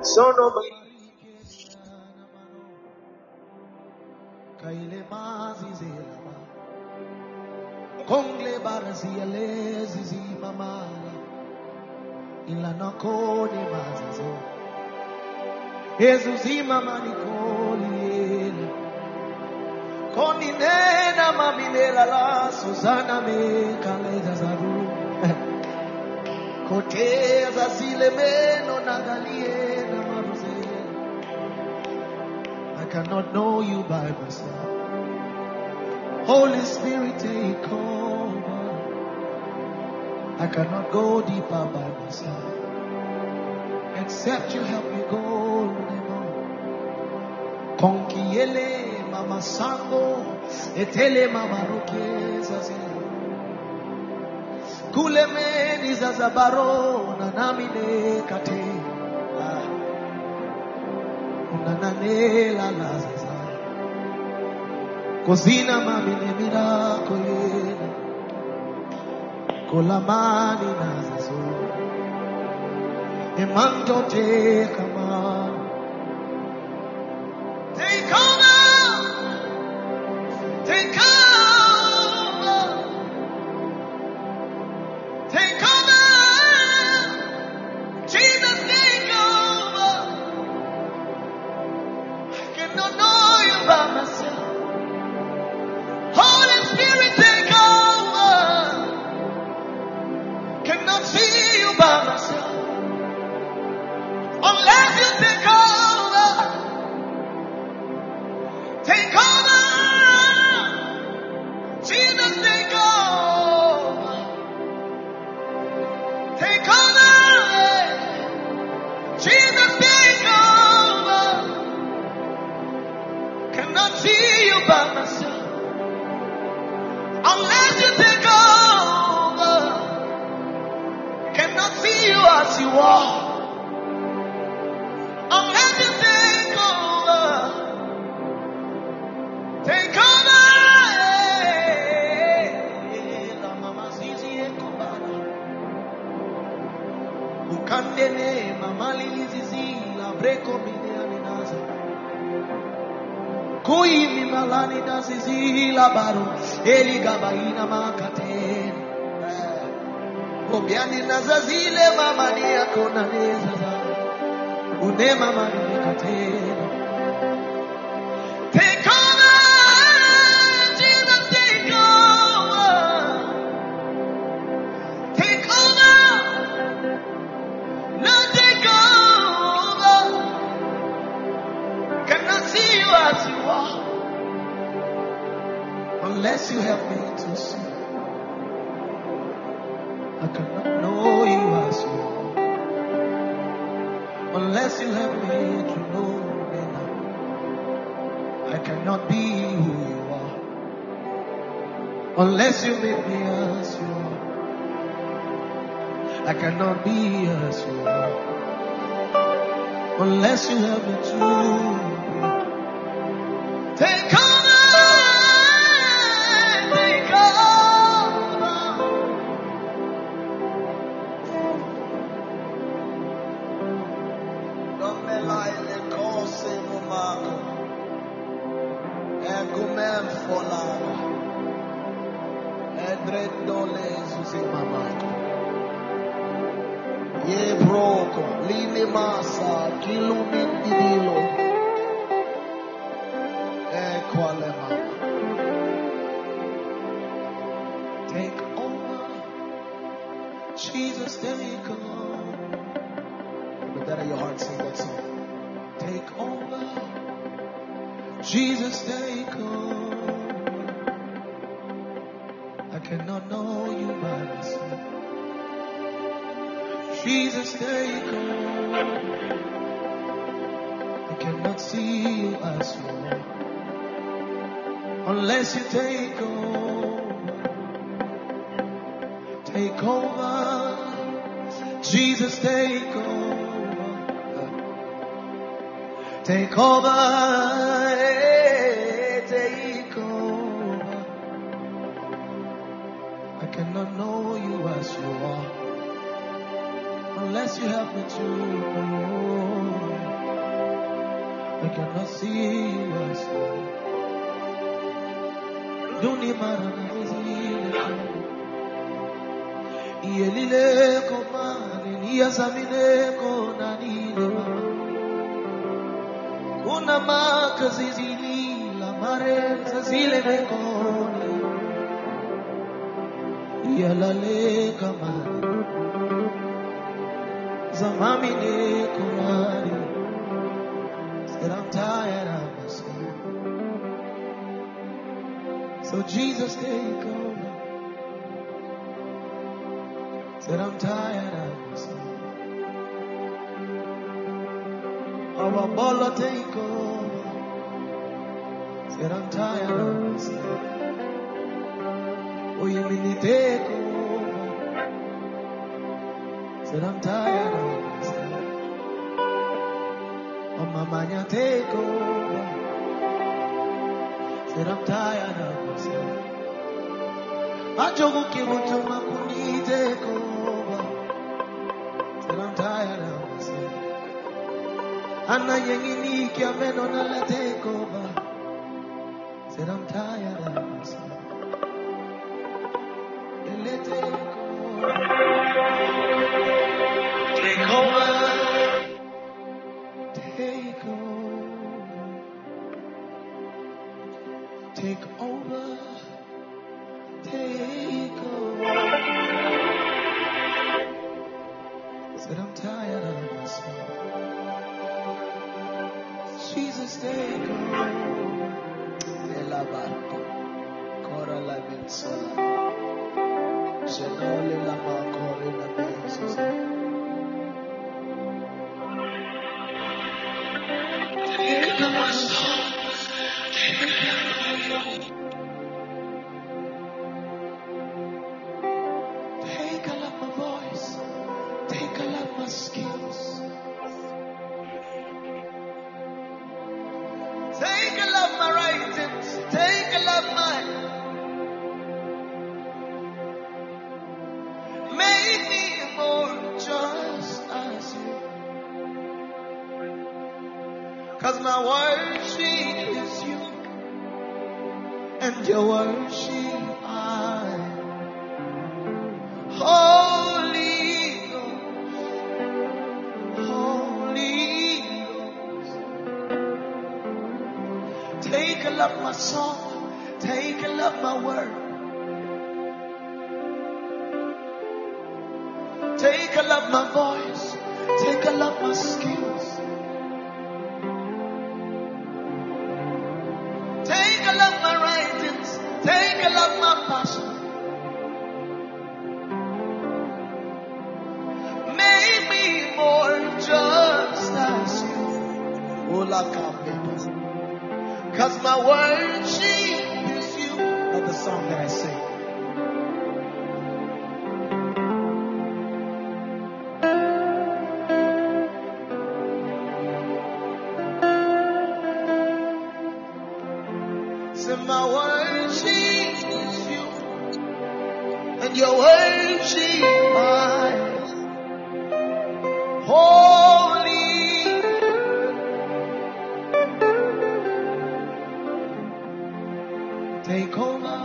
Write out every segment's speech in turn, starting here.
Son of Ezuzima manikoli Koni nena maminela la Susana me kaleza zaru Kote zazile meno nagalie na maruze. I cannot know you by myself. Holy Spirit, take over. I cannot go deeper by myself. Except you help me go. Konkiele mama sango etele mama roke zazile kule meni zazabaro na namine kate unanane la lazaza kozina mamine mirako yena kolamani nazazo emanto te kama. Take over, take over, take over, Jesus, take over. I cannot know you by myself. Holy Spirit, take over. Cannot see you by myself. Unless you take over. Take over, Jesus, take over, take over, Jesus, take over. Cannot see you by myself, unless you take over. Cannot see you as you are, unless you take over. Take over, la mama zizi ekubara, ukandene mamali zizi la breko mine aminaza, kui mimalani na zizi la baro, eli gabaina makatene, obiani na zazile mamani akona nezaza, une mamani katene. Take over. As you are, unless you help me to see, I cannot know you as you are. Unless you help me to know me now, I cannot be who you are. Unless you make me as you are, I cannot be as you are. Unless you help me to take over, take over. Don't be like the cause of Marco. Egumem follow. Edredole Zuzimamako. Ye broko, lini masa, kilumin didilo. Take over, Jesus, take over. With that in your heart, sing that song. Take over, Jesus, take over. I cannot know you by myself. Jesus, take over. I cannot see you as you are. Unless you take over, take over, Jesus, take over, take over, take over. I cannot know you as you are, unless you help me to know. I cannot see us. Duni marana zile. Yelile komani niyazamine konanile. Kuna makazi zili la mare zile nekone. Yalale kamani zamami nekonani. Said I'm tired of myself. So Jesus take over. Said I'm tired of myself. Our baller take over. Said I'm tired of myself. Oh, you mean you take over. Said I'm tired of myself. Oh, Mama, take over. Said I'm tired of myself. Ajogu kimutuma kuni take over. Said I'm tired of myself. Anna yengini kiameno na la take over. Said I'm tired of myself. Let take over. Take over. Take over. Take over. Take over. Said I'm tired of myself. Jesus, take over. Elabarco. Cora la bensola. Genole la macore la bensola. Take over my soul. Take a lot my voice. Take a lot my skills. Take a lot my writings. Take a lot my. Make me more just as you. 'Cause my worship is you. And your worship I. Holy Ghost, Holy Ghost. Take a love my song, take a love my word. Take a love my voice, take a love my skills. Take a love my writings, take a love my passion. Just as you, because my worship is you. That's the song that I sing. So my worship is you, and your worship mine. Holy, take over,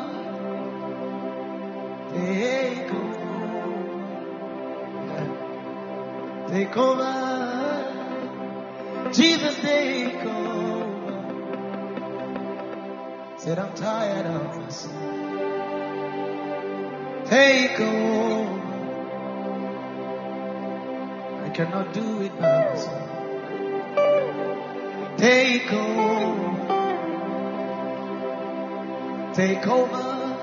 take over, take over, Jesus take over. Said I'm tired of myself. Take over. I cannot do it by myself. Take over. Take over.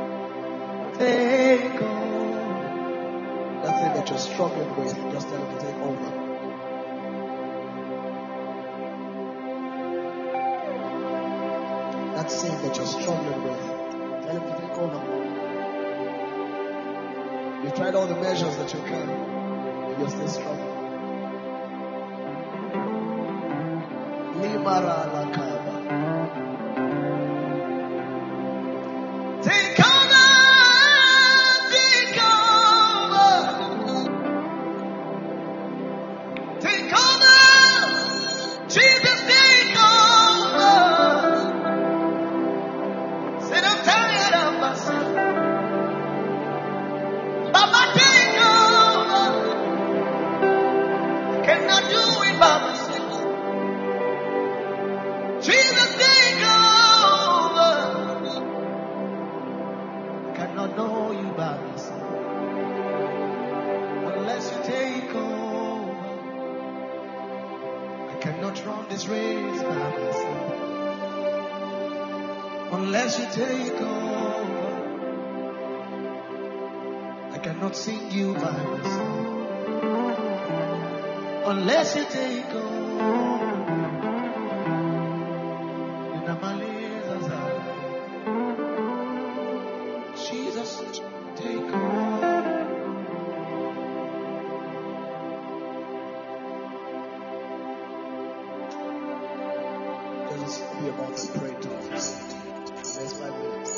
Take over. That thing that you're struggling with, just tell him to take over. That sin that you're struggling with, tell him to take over. You tried all the measures that you can. You're still struggling. Limara la kaba. Take over, take over, take over, Jesus, take cannot run this race by myself. Unless you take over, I cannot sing you by myself. Unless you take over, then I'm a Jesus, take over. Let us be about to pray to the next 5 minutes.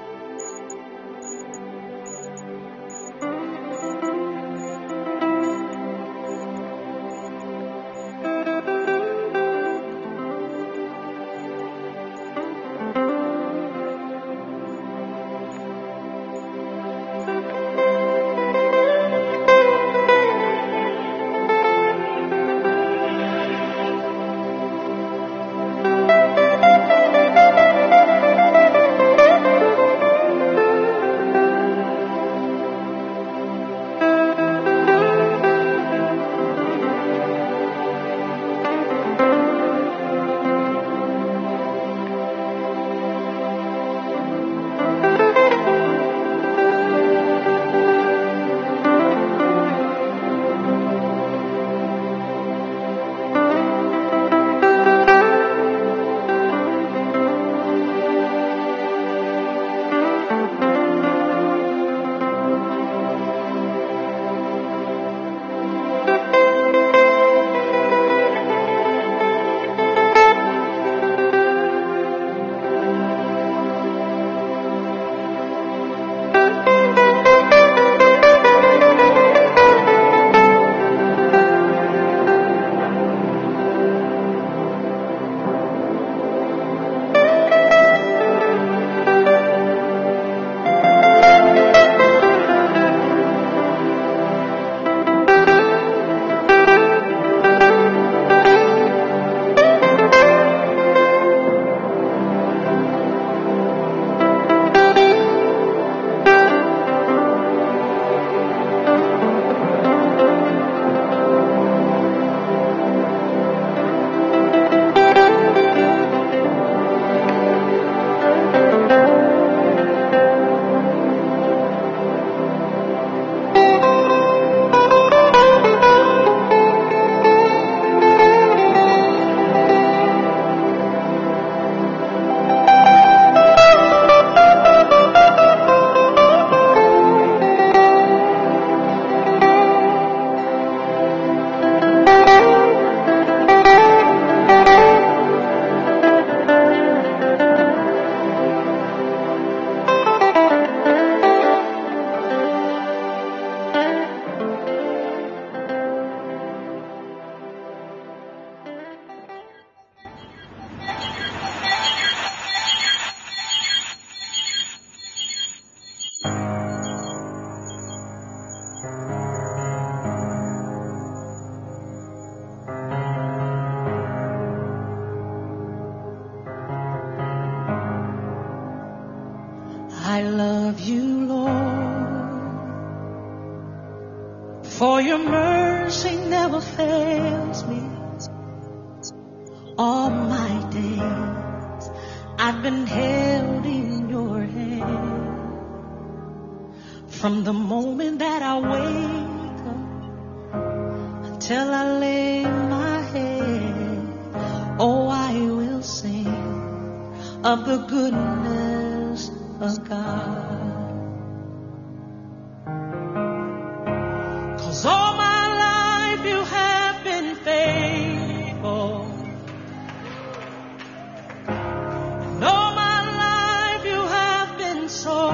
I love you, Lord, for your mercy never fails me. All my days I've been held in your hand. From the moment that I wake up until I lay my head, oh, I will sing of the goodness of God. 'Cause all my life you have been faithful. And all my life you have been so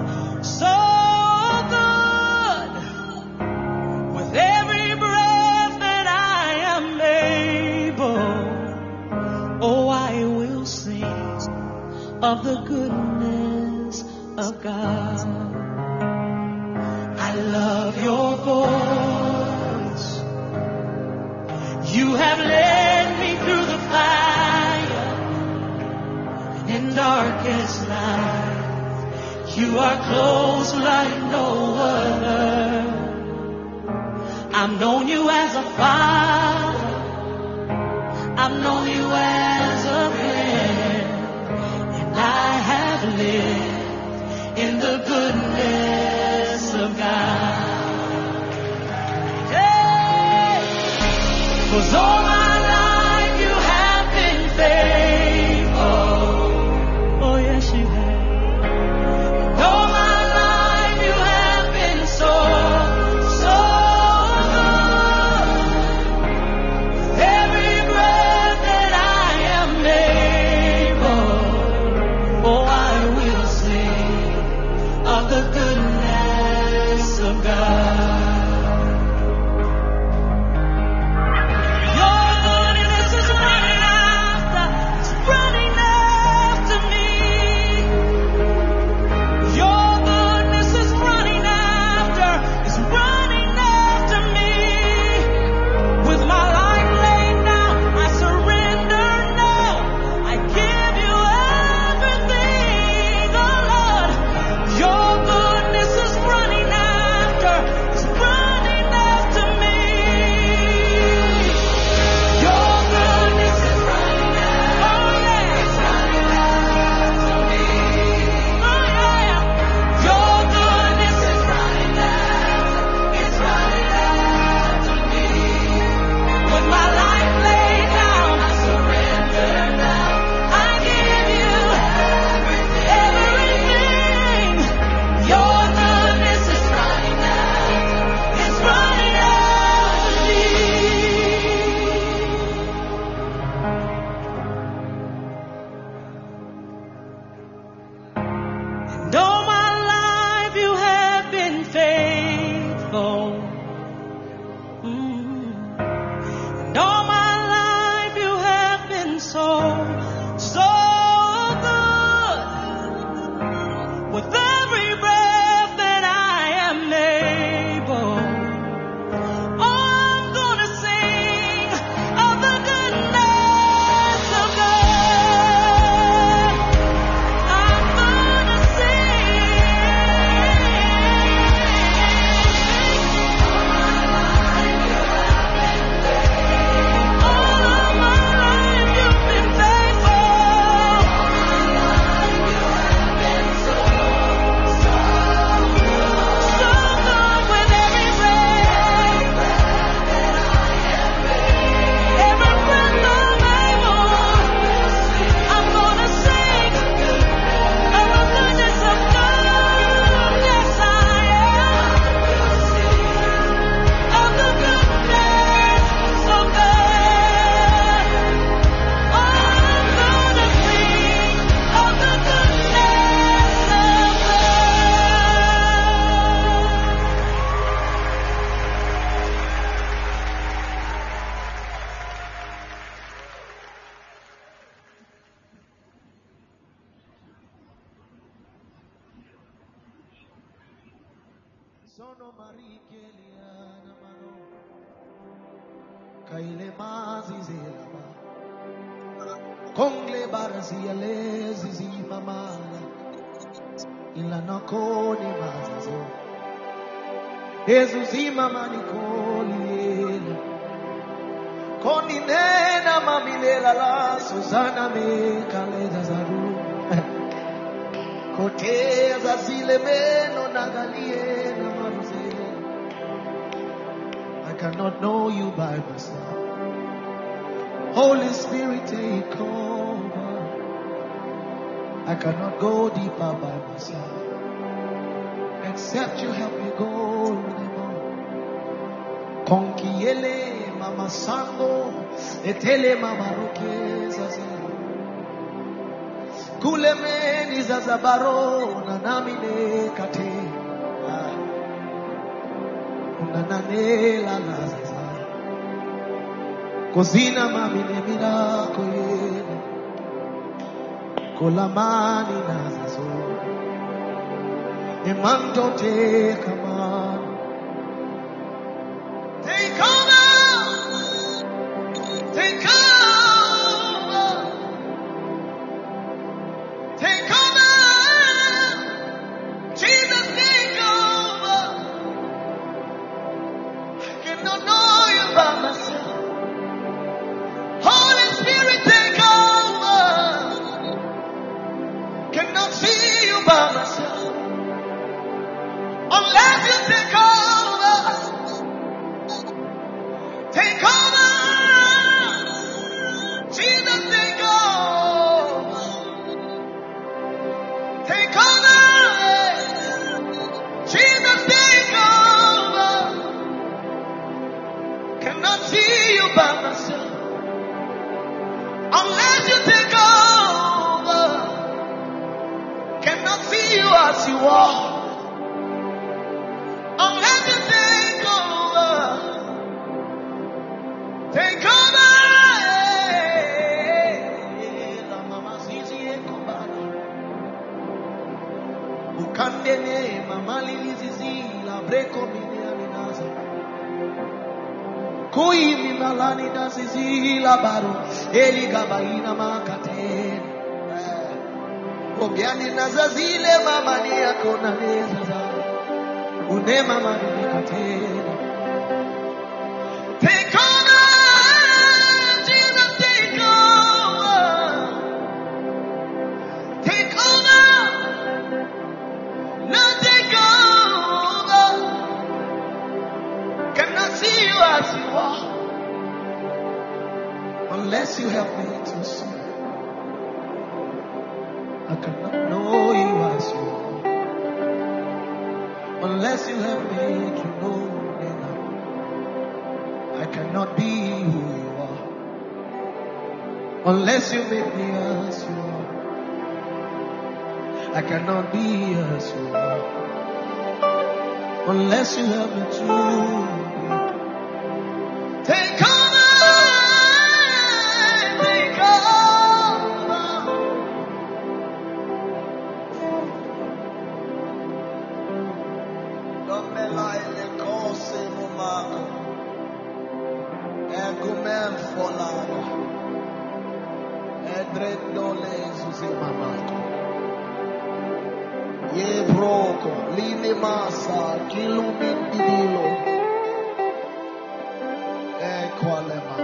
good. With every breath that I am able, oh, I will sing of the goodness of God. I love your voice. You have led me through the fire and in darkest night. You are close like no other. I've known you as a father. I've known you as a friend, and I have lived in the goodness of God. Yeah. 'Cause all my life you have been faithful. Oh yes, you have. All my life you have been so good. Every breath that I am able, oh, I will sing of the goodness of God. Your goodness is running after me. Your goodness is running after me. With my life laid down, I surrender now. I give you everything, oh Lord. Your goodness is running after me. Your goodness is running after, oh yeah, it's running after me. Oh yeah, your goodness is running after, it's running after me. With my life laid down, I surrender now. I give you everything. Your goodness is running after, it's running after me. And all my life you have been faithful. And all my life you have been so good. With every breath that I am able, I'm gonna sing of the goodness of God. I'm gonna all of my life you've been faithful. So good with every breath I'm able. I'm gonna sing of the goodness of God. Yes, I am. Of the goodness of God. I'm gonna sing of the goodness of Sono marikeliana mano. Kaile mazi zelaba. Kongle barazia lezi zimamala. Ilana koni mazazo. Jesus imamani koliela. Koni nena mamilela la Susana me kaleza zaru. Koteza zile meno nagalie na maruzela. I cannot know you by myself. Holy Spirit, take over. I cannot go deeper by myself. Except you help me go anymore. Konkiele mama sango, etele mama rokeza zela. Kule meni za zabaro na namine kate. Unananela la zaza. Kozina mamine mirako yele. Kolamani na zazo. Emando te kamano. Take over. Take over. Take over. Jesus, take over. I cannot know you by myself. Holy malani nasizila baro. Eli gabaina makate. Obiani nazazile mama ni akona nezaza. Une mama ni katena. Take over, Jesus, take over. Take over, now take over. Cannot see you as you are, unless you help me to see. I cannot know you as you are, unless you help me to know me now. I cannot be who you are, unless you make me as you are. I cannot be as you are, unless you help me to be. Take over, take over. Don't be like the cause no matter. Egumem folada. Edredole susi mamato. Ye broko, line masa, kilumit idilo. Equalema.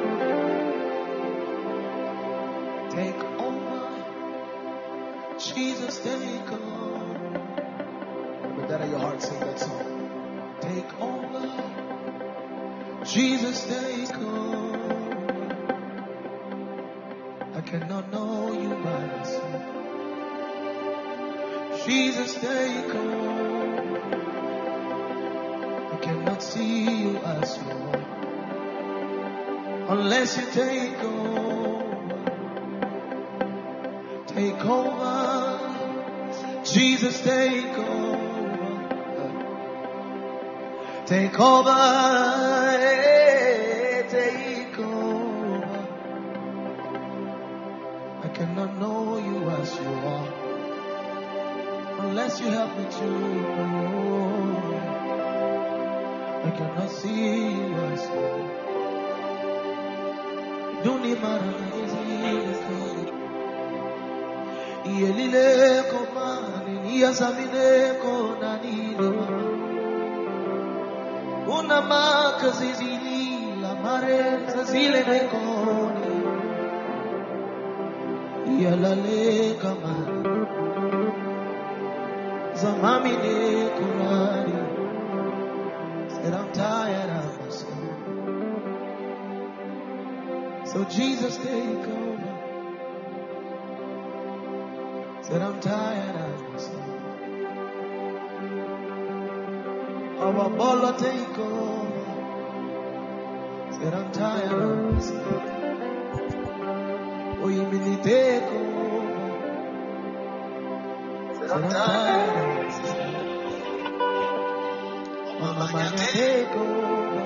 Take over, Jesus, take over. With that in your heart, sing that song. Take over, Jesus, take over. I cannot know you by myself. Jesus, take over. I cannot see you as you are, unless you take over. Take over, Jesus, take over. Take over, take over. I cannot know you as you are, unless you help me to know. I cannot see you as you are. Don't need my Yelile komani yazamine konanino. Una maka zizili la mare zazile nekoni. Yalale kamani zamami ne kurani. Said I'm tired of myself. So Jesus, take over. Said I'm tired of myself. Our bolo take over. Said I'm tired of myself. Oh, you mean take over. Said I'm tired of myself. Mama, take over.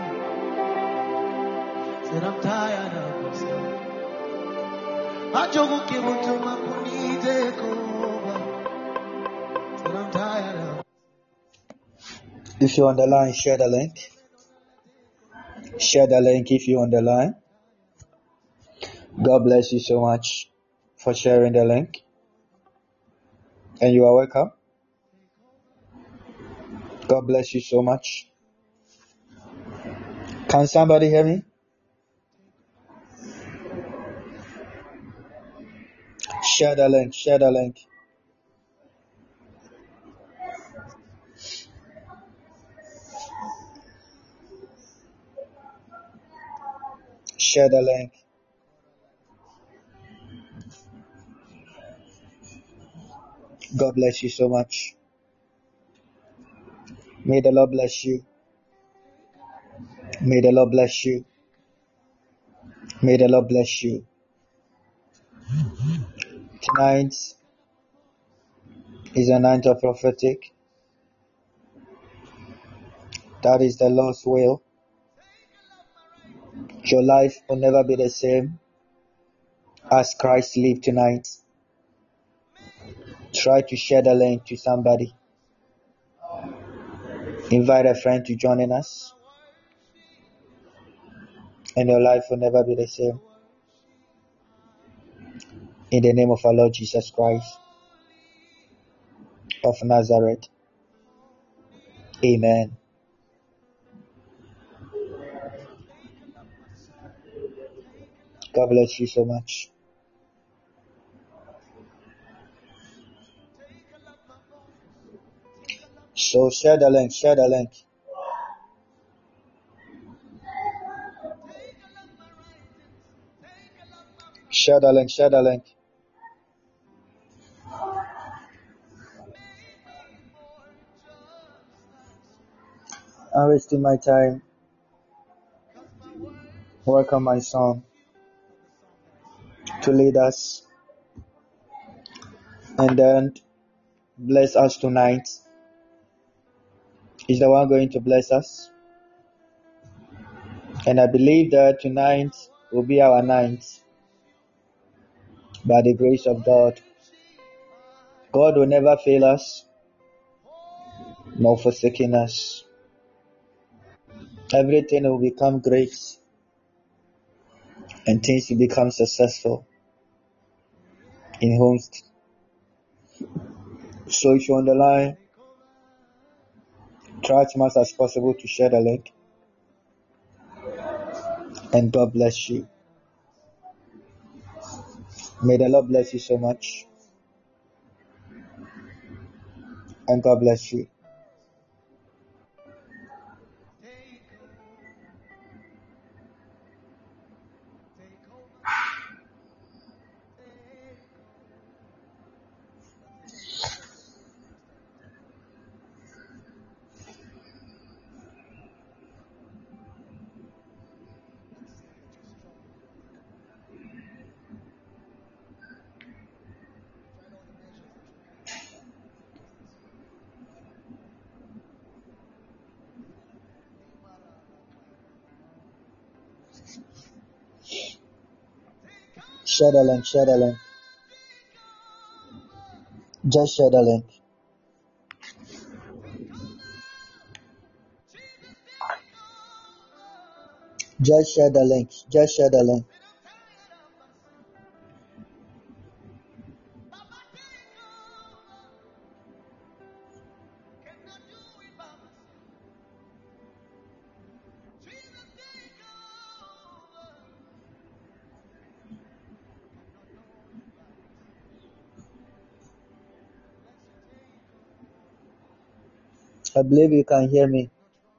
Said I'm tired of myself. Ajogu kibutu makuni take over. Said I'm tired of. If you're on the line, share the link. Share the link if you're on the line. God bless you so much for sharing the link. And you are welcome. God bless you so much. Can somebody hear me? Share the link. Share the link. Share the link. God bless you so much. May the Lord bless you. May the Lord bless you. May the Lord bless you. Tonight is a night of prophetic. That is the Lord's will. Your life will never be the same as Christ lived tonight. Try to share the link to somebody. Invite a friend to join in us. and your life will never be the same. In the name of our Lord Jesus Christ of Nazareth. Amen. God bless you so much. So share the link, share the link. Share the link, share the link. I'm wasting my time. Welcome my son to lead us and then bless us tonight. He's the one going to bless us. And I believe that tonight will be our night by the grace of God. God will never fail us nor forsaking us. Everything will become great and things will become successful in homes. So if you're on the line, try as much as possible to share the link. And God bless you. May the Lord bless you so much. And God bless you. Share the link, share the link. Just share the link. Just share the link. Just share the link. I believe you can hear me.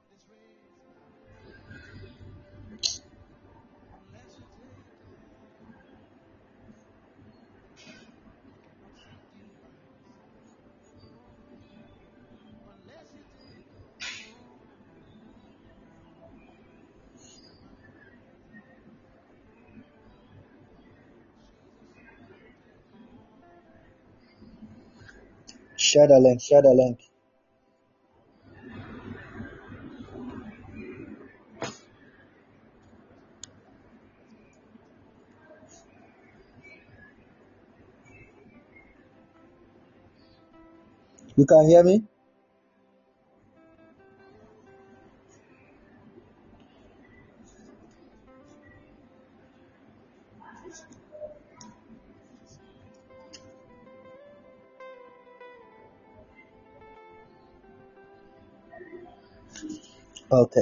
Share the link, share the link. You can hear me? Okay.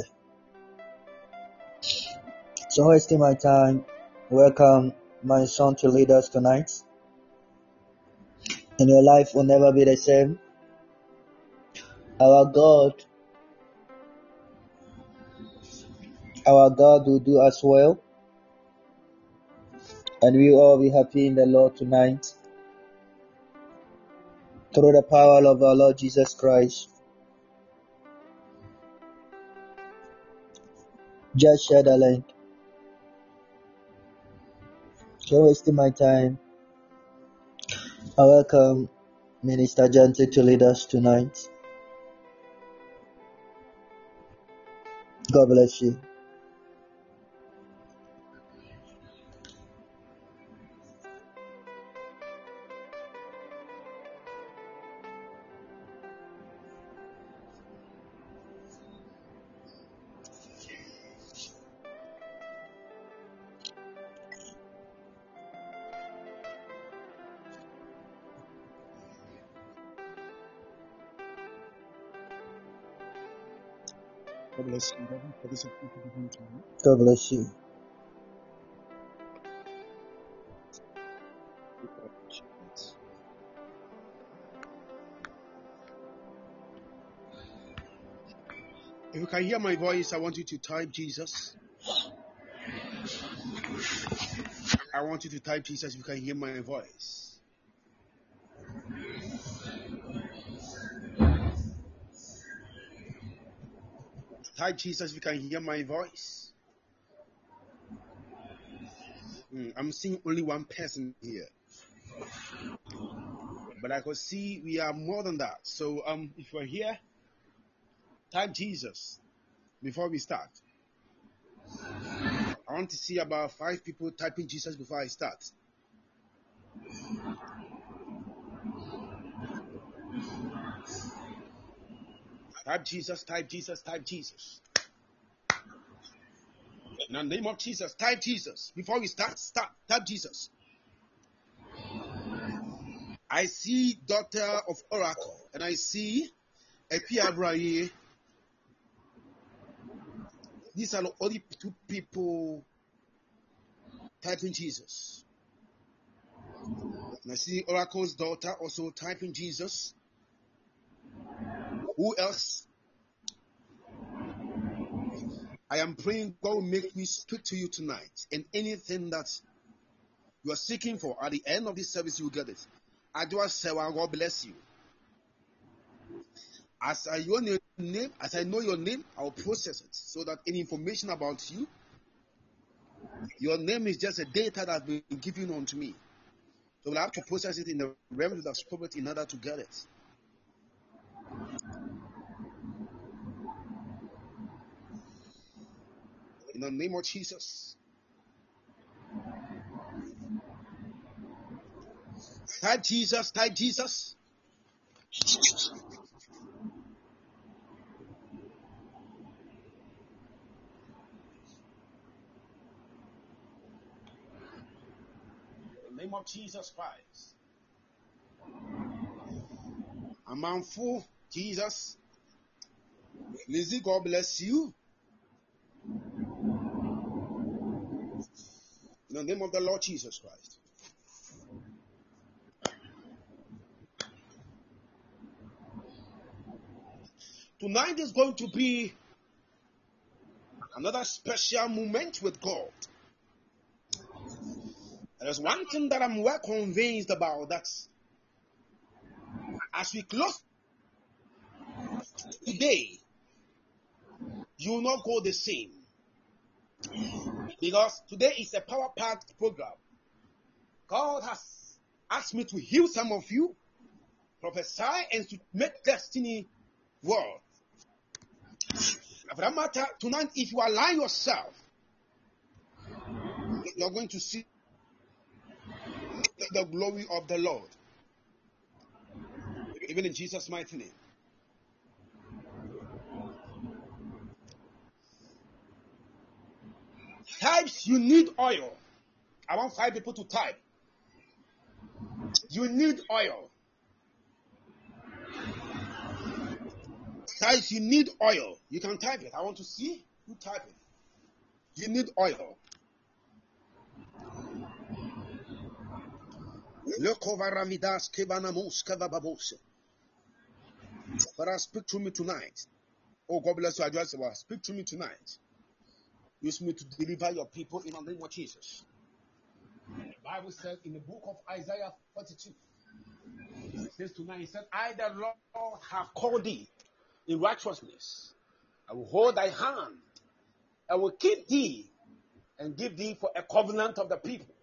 So wasting my time, welcome my son to lead us tonight. And your life will never be the same. Our God will do us well. And we will all be happy in the Lord tonight. Through the power of our Lord Jesus Christ. Just share the link. So wasting my time, I welcome Minister Jante to lead us tonight. God bless you. God bless you. For this opportunity. God bless you. If you can hear my voice, I want you to type Jesus. I want you to type Jesus if you can hear my voice. Type Jesus if you can hear my voice. I'm seeing only one person here. But I could see we are more than that. So if you're here, type Jesus before we start. I want to see about 5 people typing Jesus before I start. Type Jesus, type Jesus, type Jesus. In the name of Jesus, type Jesus. Before we start, type Jesus. I see Daughter of Oracle, and I see Epi Abraye. These are the only 2 people typing Jesus. And I see Oracle's daughter also typing Jesus. Who else? I am praying God will make me speak to you tonight. And anything that you are seeking for, at the end of this service, you will get it. Adwa Sewa, God bless you. As I know your name, I will process it so that any information about you, your name is just a data that has been given unto me. So we'll have to process it in the realm of the spirit in order to get it. In the name of Jesus. Type Jesus, type Jesus. In the name of Jesus Christ. Amanfu, Jesus. Lizzie, God bless you. In the name of the Lord Jesus Christ. Tonight is going to be another special moment with God. There's one thing that I'm well convinced about, that as we close today, you will not go the same. Because today is a power-packed program. God has asked me to heal some of you, prophesy, and to make destiny world. For that matter, tonight, if you align yourself, you're going to see the glory of the Lord. Even in Jesus' mighty name. Types, you need oil. I want 5 people to type. You need oil. Types, you need oil. You can type it. I want to see you type it. You need oil. Father, speak to me tonight. Oh, God bless you. I just say, speak to me tonight. Use me to deliver your people in the name of Jesus. The Bible said in the book of Isaiah 42, it says tonight, it said, I, the Lord, have called thee in righteousness. I will hold thy hand. I will keep thee and give thee for a covenant of the people,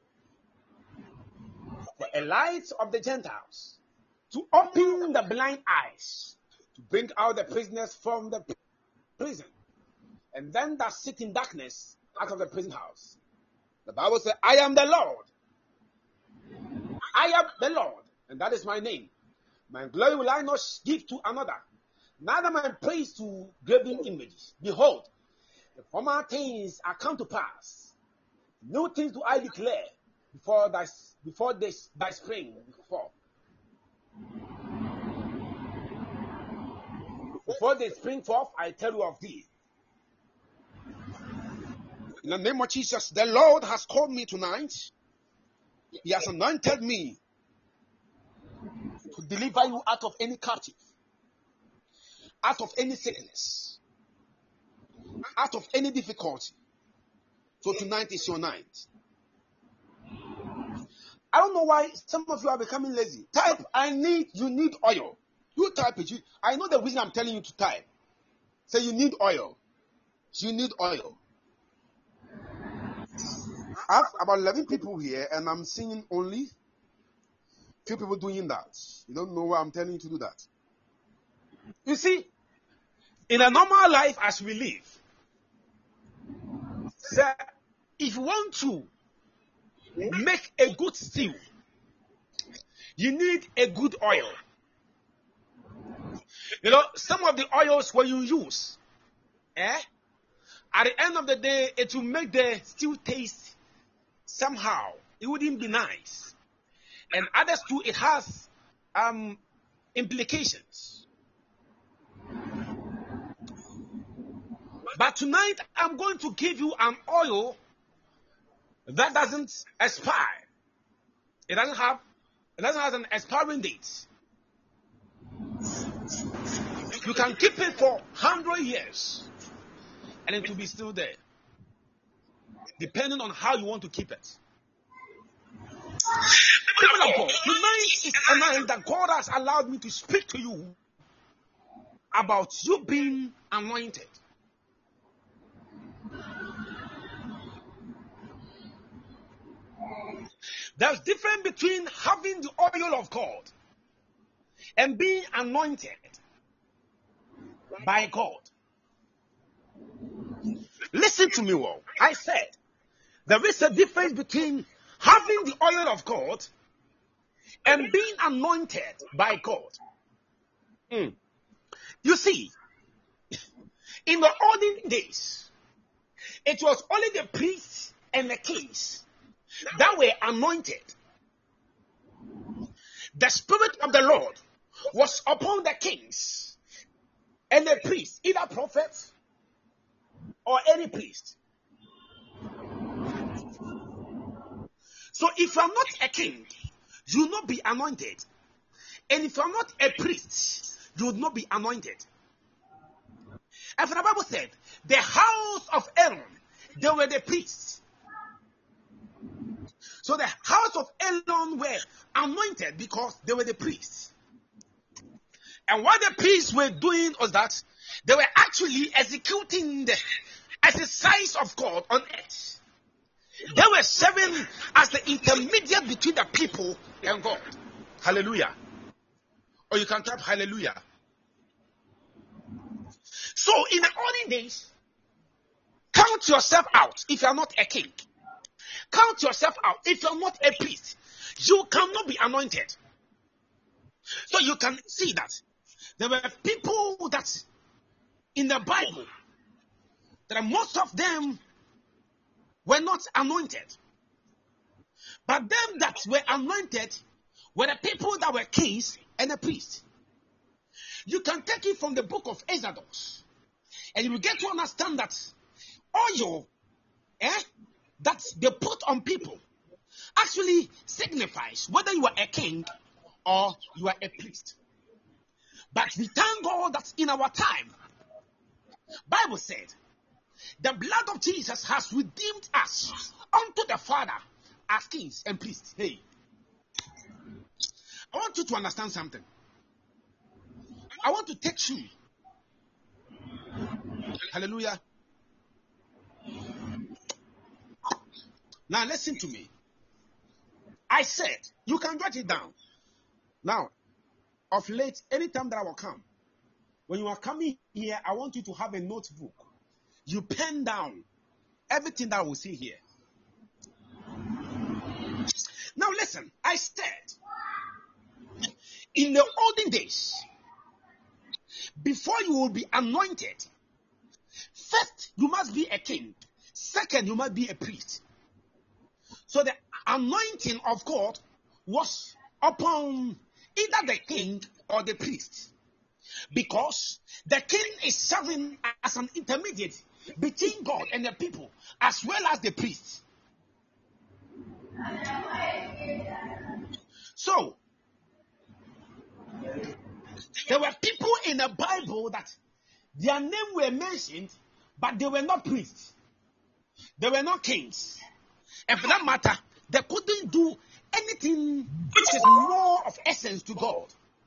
for a light of the Gentiles, to open the blind eyes, to bring out the prisoners from the prison, and them that sit in darkness out of the prison house. The Bible says, I am the Lord. I am the Lord, and that is my name. My glory will I not give to another, neither my praise to graven images. Behold, the former things are come to pass. New things do I declare before thy spring fall. Before they spring forth, I tell you of thee. In the name of Jesus, the Lord has called me tonight. He has anointed me to deliver you out of any captive, out of any sickness, out of any difficulty. So tonight is your night. I don't know why some of you are becoming lazy. Type, you need oil. You type it. I know the reason I'm telling you to type. Say you need oil. You need oil. I have about 11 people here, and I'm seeing only few people doing that. You don't know why I'm telling you to do that. You see, in a normal life as we live, sir, if you want to make a good stew, you need a good oil. You know, some of the oils when you use, at the end of the day, it will make the stew taste somehow. It wouldn't be nice. And others too, it has implications. But tonight, I'm going to give you an oil that doesn't expire. It doesn't have an expiring date. You can keep it for 100 years and it will be still there, depending on how you want to keep it. People of God, tonight is a night that God has allowed me to speak to you about you being anointed. There's difference between having the oil of God and being anointed by God. Listen to me well. I said there is a difference between having the oil of God and being anointed by God. You see, in the olden days, it was only the priests and the kings that were anointed. The Spirit of the Lord was upon the kings and the priests, either prophets or any priest. So if you are not a king, you will not be anointed. And if you are not a priest, you will not be anointed. And for the Bible said, the house of Aaron, they were the priests. So the house of Aaron were anointed because they were the priests. And what the priests were doing was that they were actually executing the exercise of God on earth. They were serving as the intermediate between the people and God. Hallelujah. Or you can type hallelujah. So in the olden days, count yourself out if you are not a king. Count yourself out if you are not a priest. You cannot be anointed. So you can see that there were people that in the Bible, that most of them were not anointed. But them that were anointed were the people that were kings and the priests. You can take it from the book of Exodus, and you will get to understand that oil that they put on people actually signifies whether you are a king or you are a priest. But we thank God that in our time, Bible said, the blood of Jesus has redeemed us unto the Father as kings and priests. Hey, I want you to understand something. I want to take you. Hallelujah. Now listen to me. I said, you can write it down. Now, of late, anytime that I will come, when you are coming here, I want you to have a notebook. You pen down everything that I will see here. Now listen, I said, in the olden days, before you will be anointed, first you must be a king. Second, you must be a priest. So the anointing of God was upon either the king or the priest. Because the king is serving as an intermediate between God and the people, as well as the priests. So, there were people in the Bible that their name were mentioned, but they were not priests. They were not kings. And for that matter, they couldn't do anything which is more of essence to God.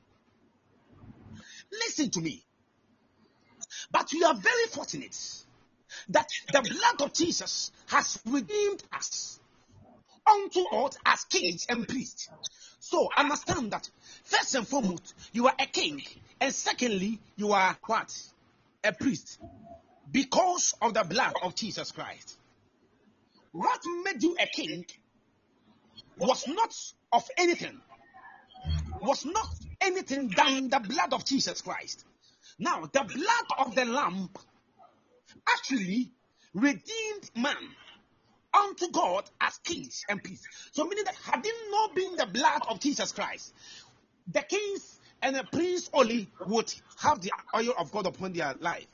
Listen to me. But we are very fortunate that the blood of Jesus has redeemed us unto God as kings and priests. So understand that first and foremost, you are a king, and secondly, you are what? A priest. Because of the blood of Jesus Christ. What made you a king was not of anything, was not anything than the blood of Jesus Christ. Now, the blood of the Lamb actually redeemed man unto God as kings and priests. So meaning that had it not been the blood of Jesus Christ, the kings and the priests only would have the oil of God upon their life.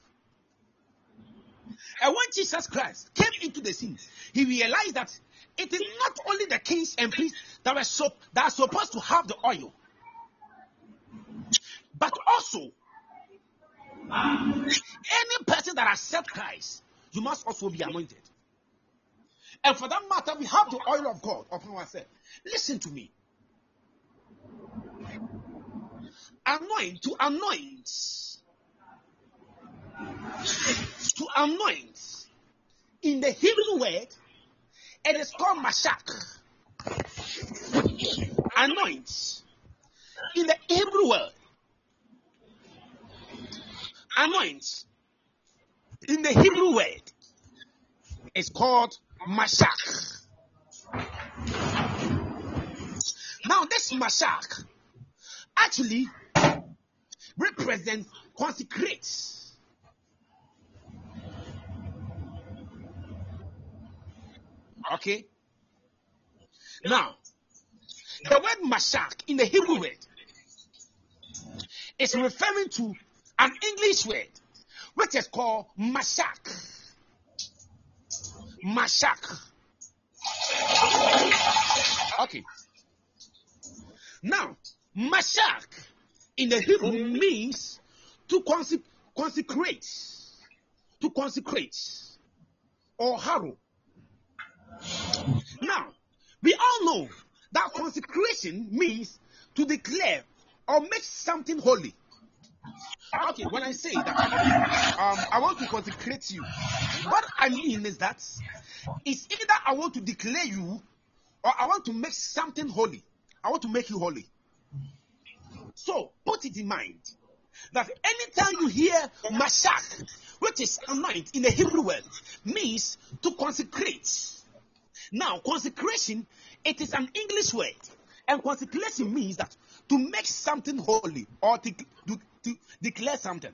And when Jesus Christ came into the scene, he realized that it is not only the kings and priests that are supposed to have the oil, but also any person that accepts Christ, you must also be anointed. And for that matter, we have the oil of God upon ourselves. Listen to me. Anoint, to anoint. To anoint. In the Hebrew word, it is called mashak. Anoint. In the Hebrew word, anoint. In the Hebrew word, it's called mashak. Now, this mashak actually represents consecrate. Okay? Now, the word mashak in the Hebrew word is referring to an English word which is called mashak. Mashak. Okay. Now, mashak in the Hebrew means to consecrate, to consecrate, or harrow. Now, we all know that consecration means to declare or make something holy. Okay, when I say that I want to consecrate you, what I mean is that it's either I want to declare you or I want to make something holy. I want to make you holy. So, put it in mind that anytime you hear mashak, which is anoint in the Hebrew word, means to consecrate. Now, consecration, it is an English word. And consecration means that to make something holy or to declare something.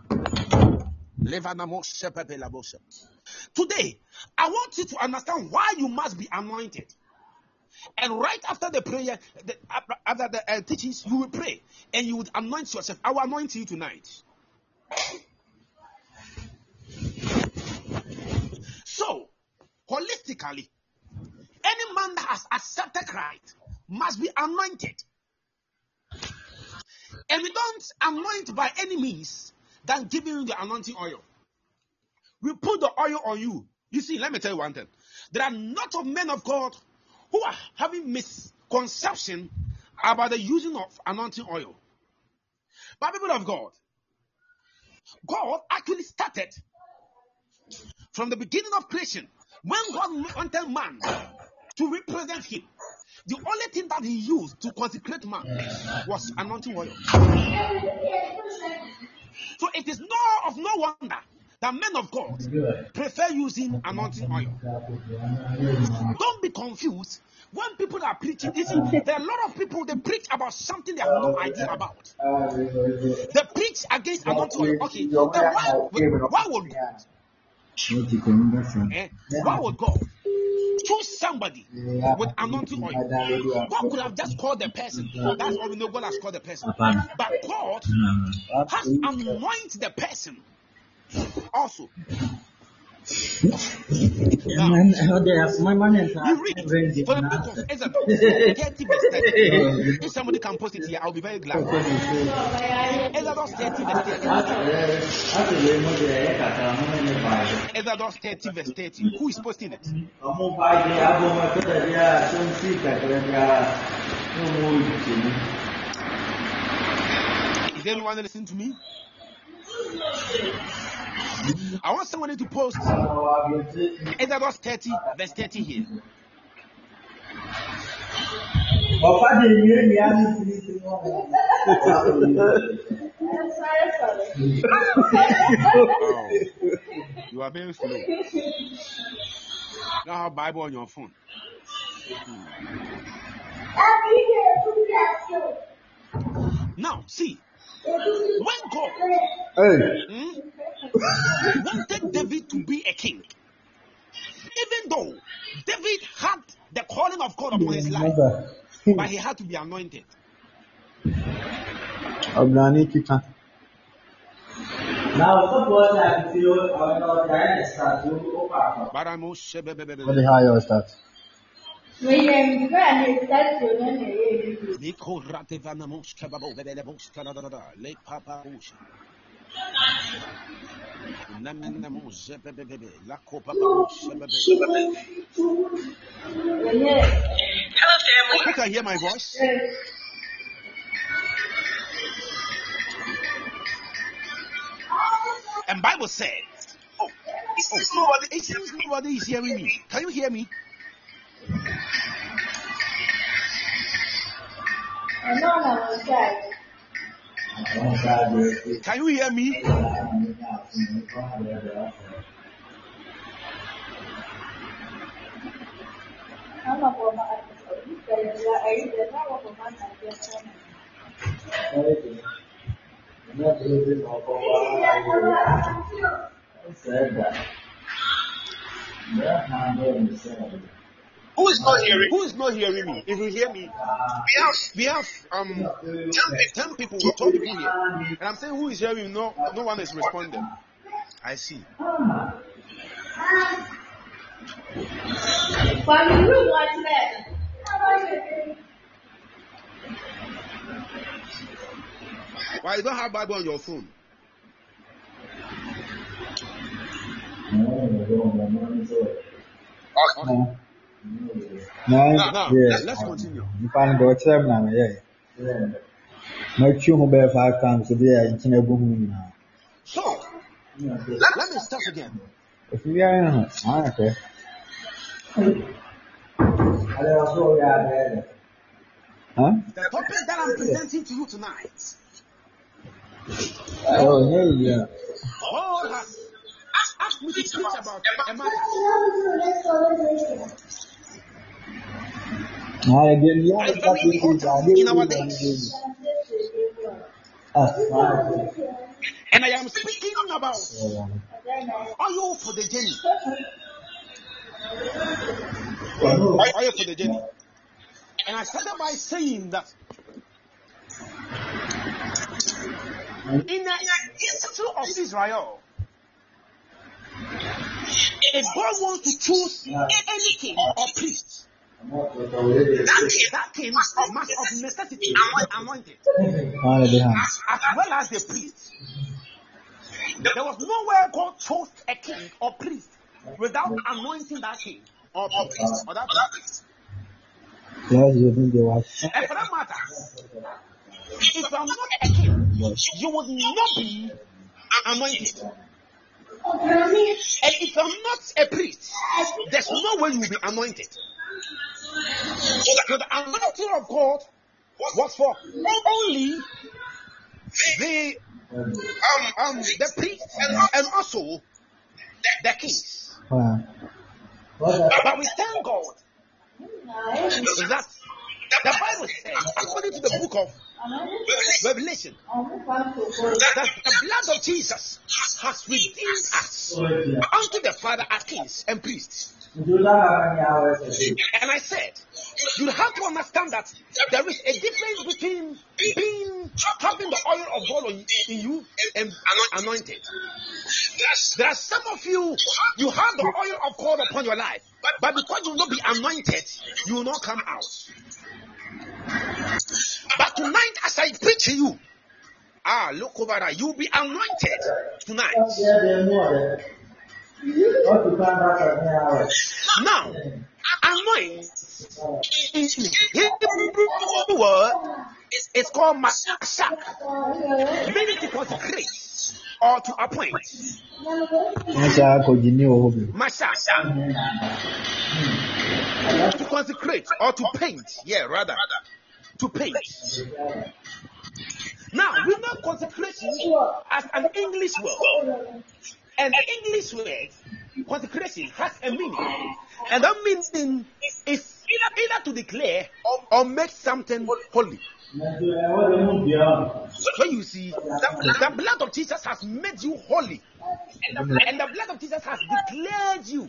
Today, I want you to understand why you must be anointed. And right after the prayer, after the teachings, you will pray and you would anoint yourself. I will anoint you tonight. So, holistically, any man that has accepted Christ must be anointed. And we don't anoint by any means than giving you the anointing oil. We put the oil on you. You see, let me tell you one thing. There are not of men of God who are having misconception about the using of anointing oil. But people of God, God actually started from the beginning of creation. When God wanted man to represent him, the only thing that he used to consecrate man was anointing oil. So it is no wonder that men of God prefer using anointing oil. Don't be confused when people are preaching. You see, there are a lot of people, they preach about something they have no idea about. They preach against anointing oil. Okay, then why would God choose somebody with anointing oil? God could have just called the person. That's all we know. God has called the person. But God has anointed the person also. Now, My money is you read it for the book of Exodus 30 verse 30. If somebody can post it here, I'll be very glad. Exodus 30 verse 30. Exodus 30 verse 30. Who is posting it? Is anyone listening to me? I want somebody to post Exodus 30 verse 30 here. Oh, you are very slow. You don't have Bible on your phone. Now, see, when God wanted David to be a king, even though David had the calling of God upon his life, but he had to be anointed. What the hell is that? Who can hear my voice? And Bible said, it seems nobody is hearing me. Can you hear me? Can you hear me? Who is not hearing me? If you hear me, we have 10 people, 12 people here, and I'm saying who is hearing me? No one is responding. I see. Why you don't have Bible on your phone? Now, let's continue. You find go term now, yeah. Make sure mobile 5 times a day in Chinabu. So, let me start again. If you are okay. Huh? The topic that I'm presenting to you tonight. Oh, yeah. God has asked me to preach about a matter. In our days. And I am speaking about oil for the journey. Oil for the journey. And I started by saying that in the history of Israel, if God wants to choose any king or priest, that king must of necessity be anointed, as well as the priest. There was nowhere God chose a king or priest without anointing that king or priest or that priest. And for that matter, if you are not a king, you would not be anointed. And if you are not a priest, there's no way you will be anointed. So the anointing of God was for only the priest and also the kings. But we thank God that the Bible says, according to the book of Revelation, that the blood of Jesus has redeemed us unto the Father as kings and priests. And I said, you have to understand that there is a difference between having the oil of God in you and anointed. There are some of you, you have the oil of God upon your life, but because you will not be anointed, you will not come out. But tonight, as I preach to you, look over there, you'll be anointed tonight. Now, anoint in Hebrew word, it's called mashak, meaning to consecrate or to appoint. Mashak, to consecrate or to paint. Yeah, rather, to paint. Now, we know consecration as an English word. And the English word, consecration, has a meaning. And that meaning is either to declare or make something holy. So you see, the blood of Jesus has made you holy. And the blood of Jesus has declared you.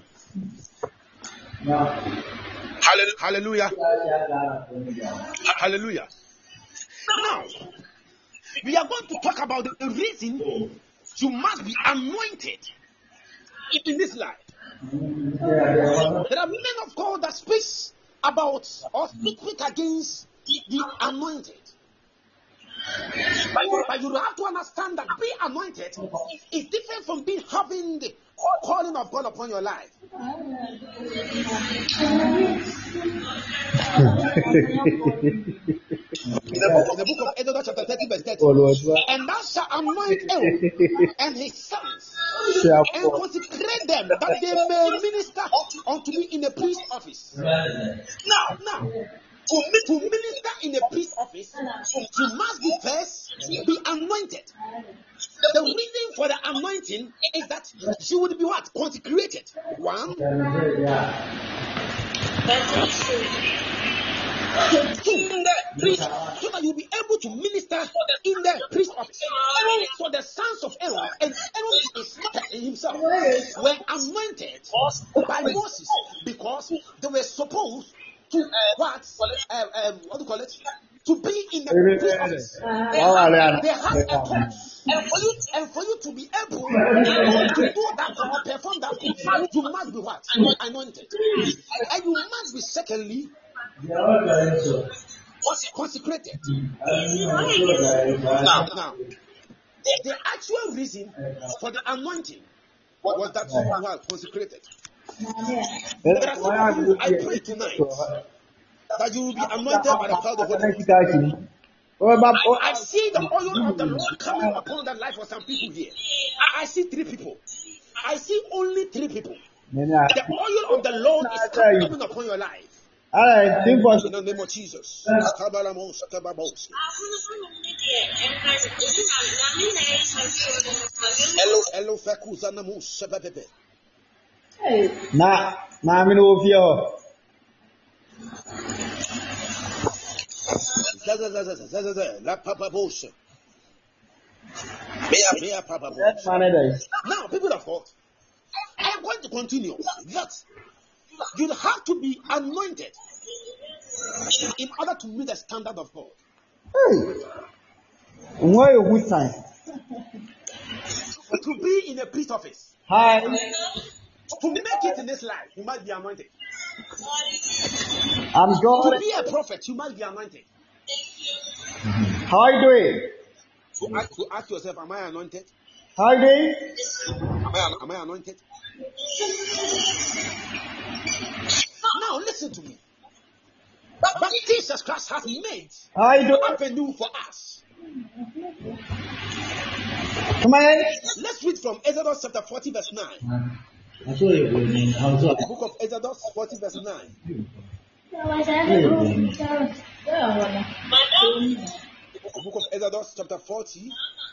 Hallelujah. Hallelujah. Now, we are going to talk about the reason you must be anointed in this life. There are men of God that speak about or speak against the anointed. But you have to understand that being anointed is different from having the calling of God upon your life. In the book of Exodus chapter 30 verse 30, and thou shalt anoint Aaron and his sons and consecrate them that they may minister unto me in the priest office. Now, to minister in the priest office, you must be first be anointed. The reason for the anointing is that you would be what? Consecrated. One. Two, so that you'll be able to minister in the priest office. So the sons of Aaron, and Aaron is himself, were anointed by Moses because they were supposed to what do you call it? To be in the priest office. They had a cause. And for you to be able to do that or perform that cause, you must be what? Anointed. And you must be secondly consecrated. Now, the actual reason for the anointing was that you were consecrated. There are some of you, I pray tonight that you will be anointed by the power of the Holy Ghost. I see the oil of the Lord coming upon the life of some people here. I see 3 people. I see only 3 people. The oil of the Lord is coming upon your life. In the name of Jesus. Now, people of God, I am going to continue that you have to be anointed in order to meet the standard of God. To be in a priest office. To make it in this life, you must be anointed. To be a prophet, you must be anointed. How are you doing? To ask yourself, am I anointed? How are you doing? Am I anointed? Now listen to me. But Jesus Christ has made an avenue for us. Come on. Let's read from Exodus chapter 40 verse 9. The book of Exodus 40 verse 9. The book of Exodus chapter 40.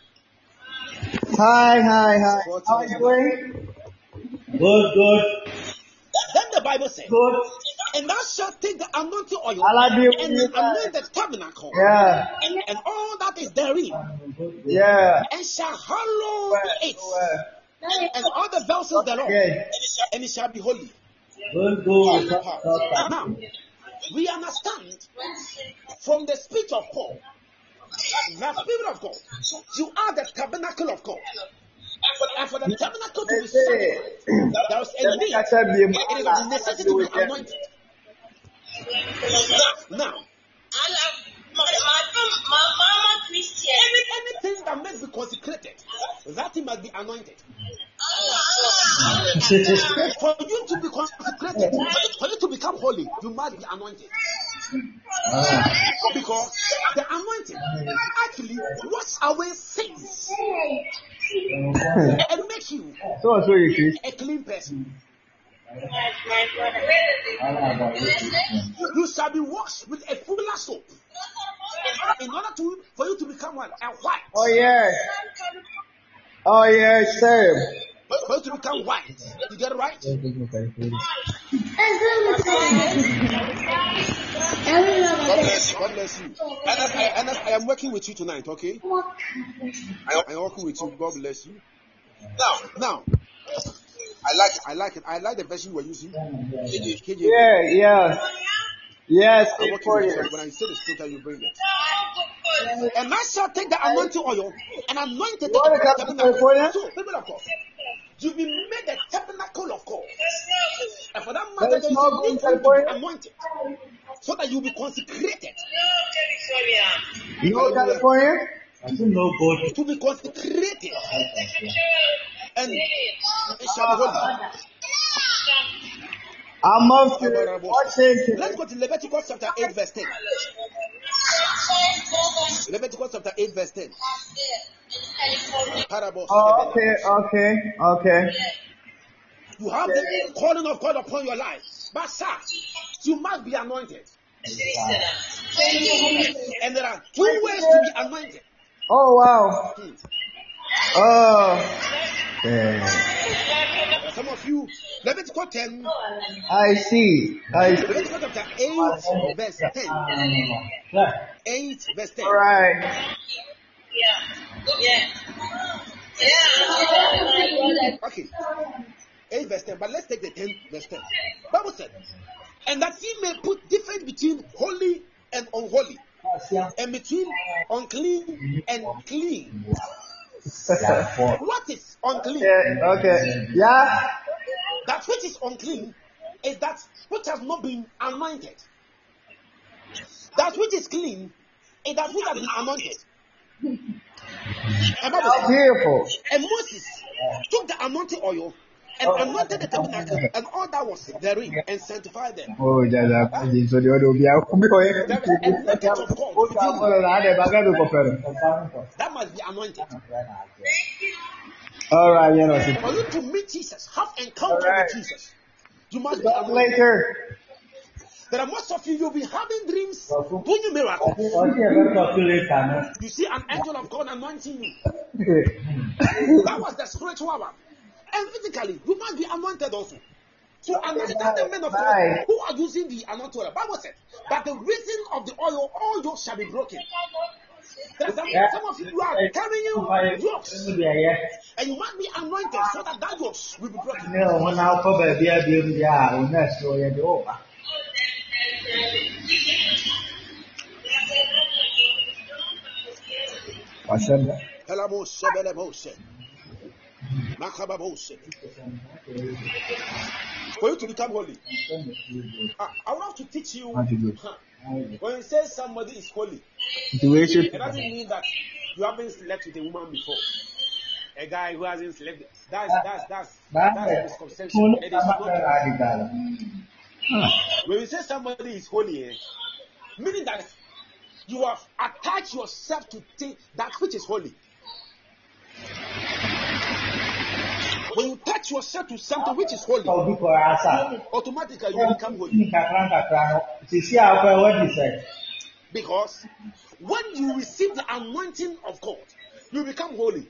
Hi. How are you doing? Good. Then the Bible says, and thou shalt take the anointing oil and anoint the tabernacle and all that is therein, and shall hallow it, and all the vessels thereof, and it shall be holy. Now, we understand from the speech of Paul, the Spirit of God, you are the tabernacle of God. And for the tabernacle to be sanctified, there was a need. It is of necessity to be anointed. Now, anything that must be consecrated, that thing must be anointed. For you to be consecrated, for you to become holy, you must be anointed. Because the anointing actually washes away sins and makes you a clean person. You shall be washed with a fuller soap in order for you to become what? A white. Oh yes, sir. For you to become white. You get it right? God bless you. And I am working with you tonight, okay? I am working with you. God bless you. Now, I like it. I like the version you were using. KJ. Yeah. Yes, I'm working with you. When I say the scripture, you bring it. And I shall take the anointing oil and anoint it. So, people of God, you've been made the tabernacle of God. And for that matter, there is a need for you to be anointed so that you'll be consecrated. You know California? To be consecrated. And it shall be holy. I'm off to Washington. Let's go to Leviticus chapter 8 verse 10. Leviticus chapter 8 verse 10. Okay. You have the calling of God upon your life. But sir, you must be anointed. And there are 2 ways to be anointed. Oh wow. Some of you, Leviticus 10. I see. Leviticus chapter 8 verse 10. 8 verse 10. All right. Okay. 8 verse 10. But let's take the 10 verse 10. Bible said, and that ye may put difference between holy and unholy, and between unclean and clean. What is unclean? Yeah. That which is unclean is that which has not been anointed. That which is clean is that which has been anointed. And Beautiful. And Moses took the anointing oil and anointed the tabernacle and all that was therein and sanctified them. Oh, There is a message of God within you that must be anointed. All right, For you to meet Jesus, have encounter with Jesus, you must be anointed. later. There are most of you, you'll be having dreams, doing miracles. You see an angel of God anointing you. That was the spiritual one. And physically, you must be anointed also. So understand the men of God who are using the anointing oil. Bible said that the reason of the oil, all yokes shall be broken. Some of you are carrying yokes, and you must be anointed so that that yokes will be broken. For you to become holy, I want to teach you. When you say somebody is holy, it doesn't mean that you haven't slept with a woman before. A guy who hasn't slept. That's a misconception. It is not. When you say somebody is holy, meaning that you have attached yourself to that which is holy. When you touch yourself to something which is holy, automatically you become holy. Because when you receive the anointing of God, you become holy.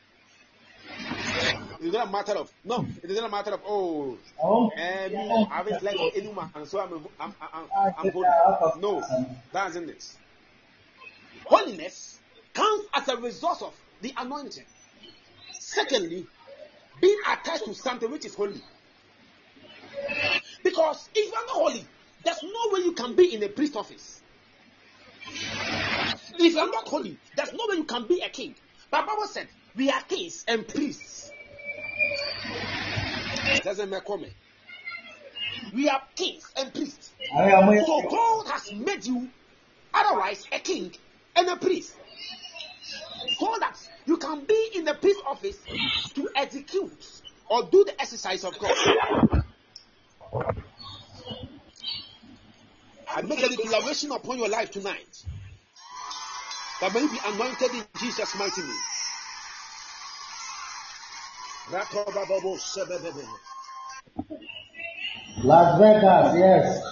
It's not a matter of it isn't a matter of I haven't slept with any woman, and so I'm holy. No, that isn't it. Holiness comes as a result of the anointing. Secondly, being attached to something which is holy. Because if you are not holy, there's no way you can be in a priest office. If you are not holy, there's no way you can be a king. But Bible said we are kings and priests. Doesn't make comment. We are kings and priests. I am a- So God has made you otherwise a king and a priest. So that you can be in the priest office to execute or do the exercise of God. I make a declaration upon your life tonight that may you be anointed in Jesus' mighty name. Las Vegas, yes.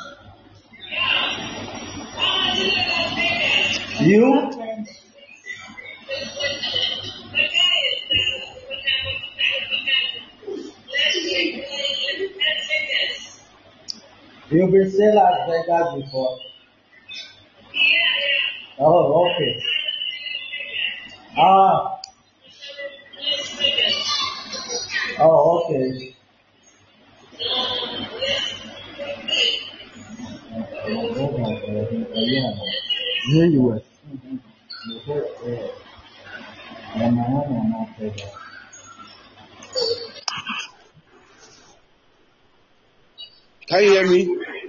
You? You've been to Las Vegas before? Oh, okay. Ah. Oh, okay. Here you were. Can you hear me?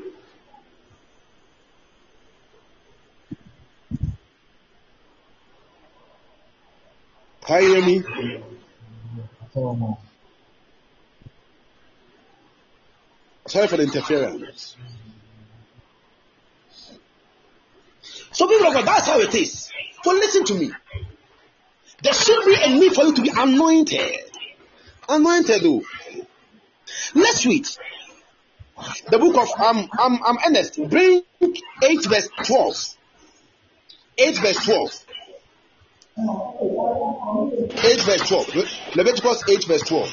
Can you hear me? Sorry for the interference. So people of God, that's how it is. So listen to me. There should be a need for you to be anointed. Anointed though. Next week, the book of I'm Ernest. Bring 8 verse 12. 8 verse 12. 8 verse 12. Leviticus 8 verse 12.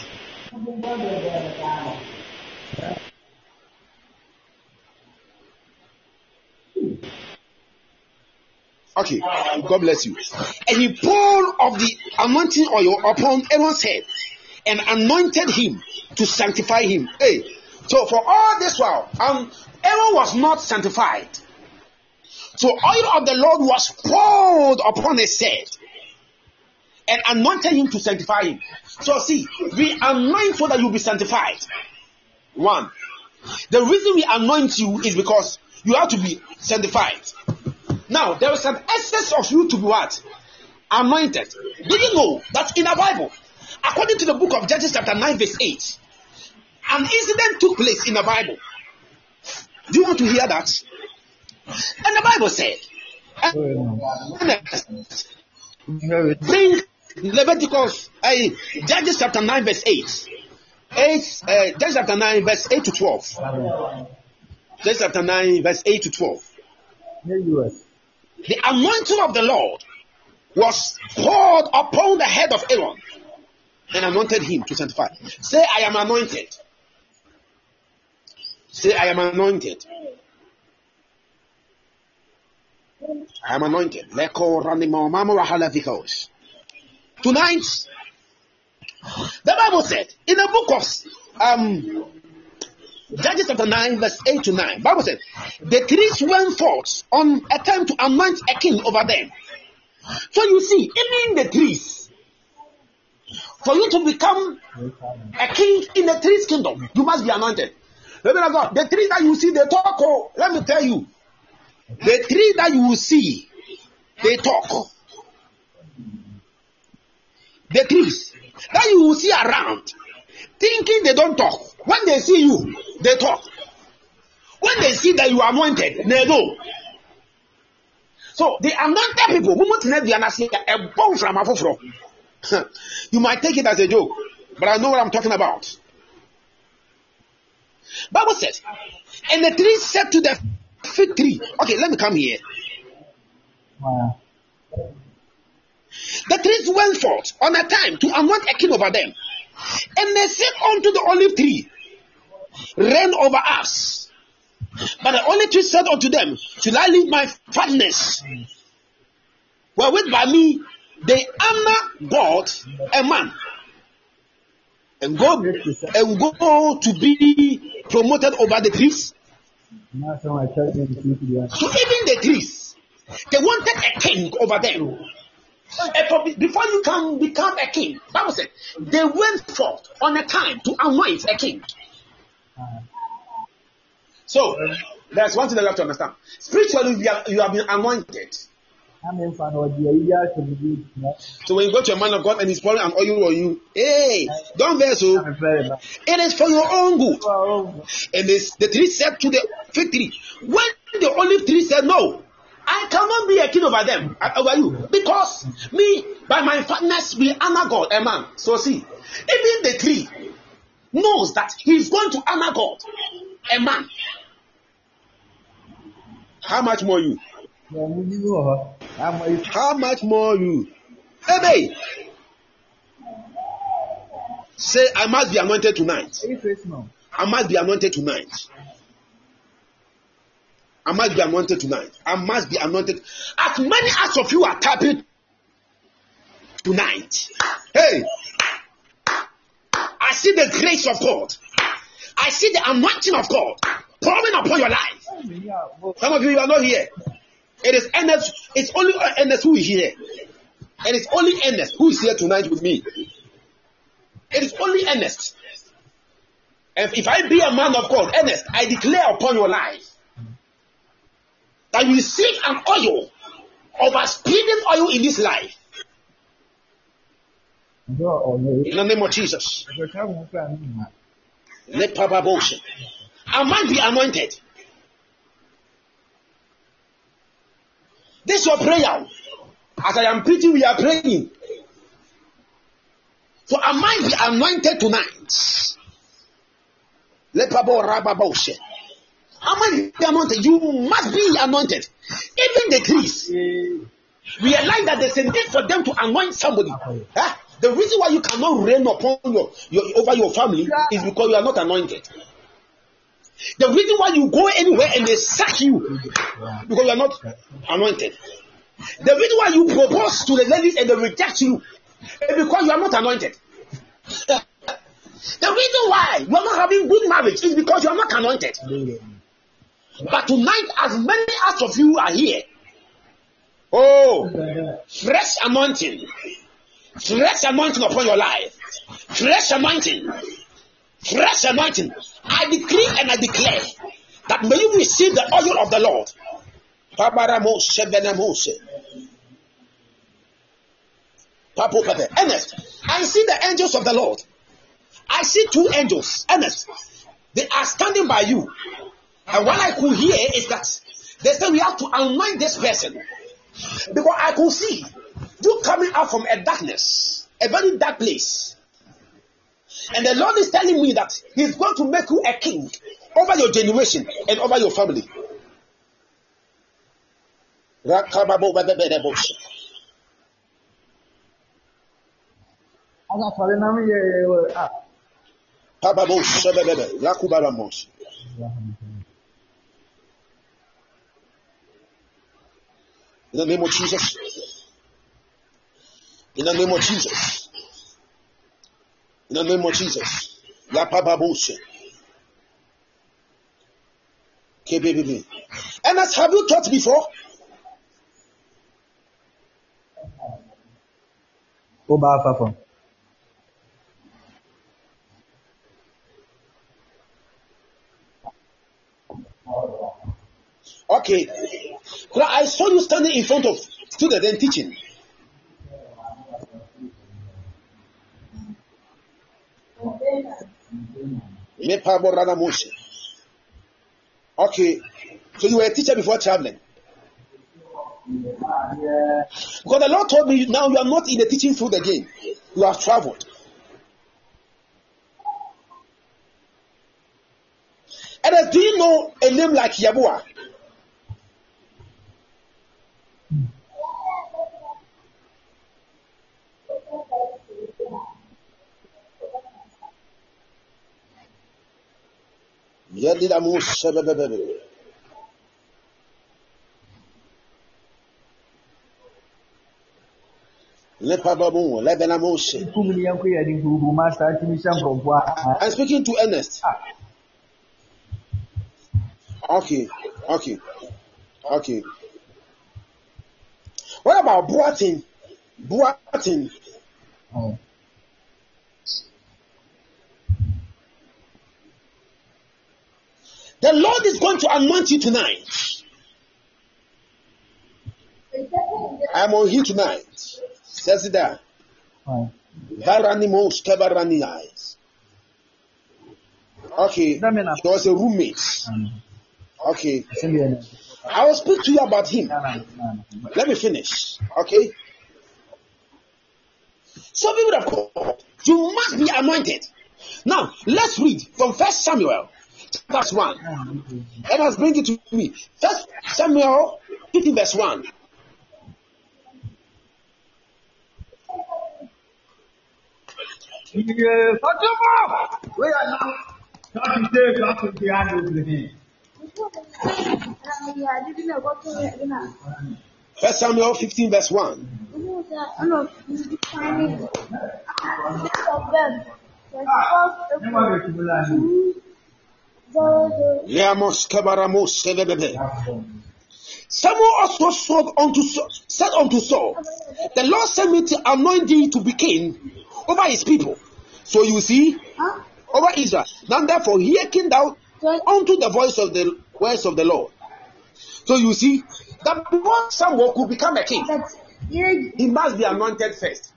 Okay, God bless you. And he poured of the anointing oil upon Aaron's head and anointed him to sanctify him. Hey, so for all this while, Aaron was not sanctified. So oil of the Lord was poured upon his head and anointed him to sanctify him. So see, we anoint so that you'll be sanctified. One, the reason we anoint you is because you have to be sanctified. Now, there is an essence of you to be what? Anointed. Do you know that in the Bible, according to the book of Judges chapter 9 verse 8, an incident took place in the Bible. Do you want to hear that? And the Bible said, bring Leviticus, Judges chapter 9 verse 8. Judges chapter 9 verse 8 to 12. Judges chapter 9 verse 8 to 12. The anointing of the Lord was poured upon the head of Aaron and anointed him to sanctify. Say, I am anointed. Say, I am anointed. I am anointed. Tonight, the Bible said in the book of Judges chapter 9 verse 8 to 9, Bible said the priests went forth on a time to anoint a king over them. So you see, even the priests, for you to become a king in the priest kingdom, you must be anointed. The tree that you see, they talk. Oh, let me tell you, the tree that you will see, they talk. The trees that you will see around, thinking they don't talk. When they see you, they talk. When they see that you are anointed, they know. So the anointed people, you might take it as a joke, but I know what I'm talking about. Bible says, and the tree said to the fig tree, okay, let me come here. Wow. The trees went forth on a time to anoint a king over them. And they said unto the olive tree, reign over us. But the olive tree said unto them, shall I leave my fatness, wherewith by me they honor God and man, and go to be promoted over the trees? So even the trees, they wanted a king over them. Before you can become a king, Bible said they went forth on a time to anoint a king. So there's one thing that you have to understand. Spiritually, you have been anointed. So when you go to a man of God and he's pouring an oil on you, hey, don't vex. So it is for your own good. And the tree said to the fig tree, when the olive tree said, no, I cannot be a king over them, over you, because me, by my fatness, we honor God, a man. So see, even the tree knows that he's going to honor God, a man. How much more you? How much more you? Hey, say, I must be anointed tonight. I must be anointed tonight. I must be anointed tonight. I must be anointed. As many as of you are tapping tonight. Hey, I see the grace of God. I see the anointing of God pouring upon your life. Some of you are not here. It is Ernest. It's only Ernest who is here. And it's only Ernest who is here tonight with me. It is only Ernest. And if I be a man of God, Ernest, I declare upon your life that you receive an oil, overspeeding oil in this life. In the name of Jesus. Let Papa Boshe. I might be anointed. This is your prayer. As I am preaching, we are praying. So I might be anointed tonight. Let Papa Rababoshe. I might be anointed. You must be anointed. Even the trees realize that there's a need for them to anoint somebody. Huh? The reason why you cannot reign upon over your family is because you are not anointed. The reason why you go anywhere and they sack you because you are not anointed. The reason why you propose to the ladies and they reject you is because you are not anointed. The reason why you are not having good marriage is because you are not anointed. But tonight, as many as of you are here, oh, fresh anointing upon your life, fresh anointing. I decree and I declare that may you receive the oil of the Lord. Ernest, I see the angels of the Lord. I see two angels. Ernest, they are standing by you. And what I could hear is that they say we have to anoint this person. Because I could see you coming out from a darkness, a very dark place. And the Lord is telling me that He's going to make you a king over your generation and over your family. In the name of Jesus. In the name of Jesus. In the name of Jesus. And as have you taught before? Okay. I saw you standing in front of students and teaching. Okay. So you were a teacher before traveling. Because the Lord told me now you are not in the teaching field again. You have traveled. And do you know a name like Yabua? I'm speaking to Ernest. Okay. What about Boating? Boating. Oh. The Lord is going to anoint you tonight. I'm on here tonight. Says it there. Oh. Varanimos kebarani eyes. Okay. He was a roommate. Okay. I will speak to you about him. Let me finish. Okay. So people of God, you must be anointed. Now, let's read from 1 Samuel. That's 1. Let us bring it to me. 1 Samuel 15 verse 1. First Samuel 15 verse 1. Samuel also said unto Saul, the Lord sent me to anoint thee to be king over his people. So you see, over Israel. Now therefore hearken thou unto the voice of the words of the Lord. So you see, that before Samuel could become a king, he must be anointed first.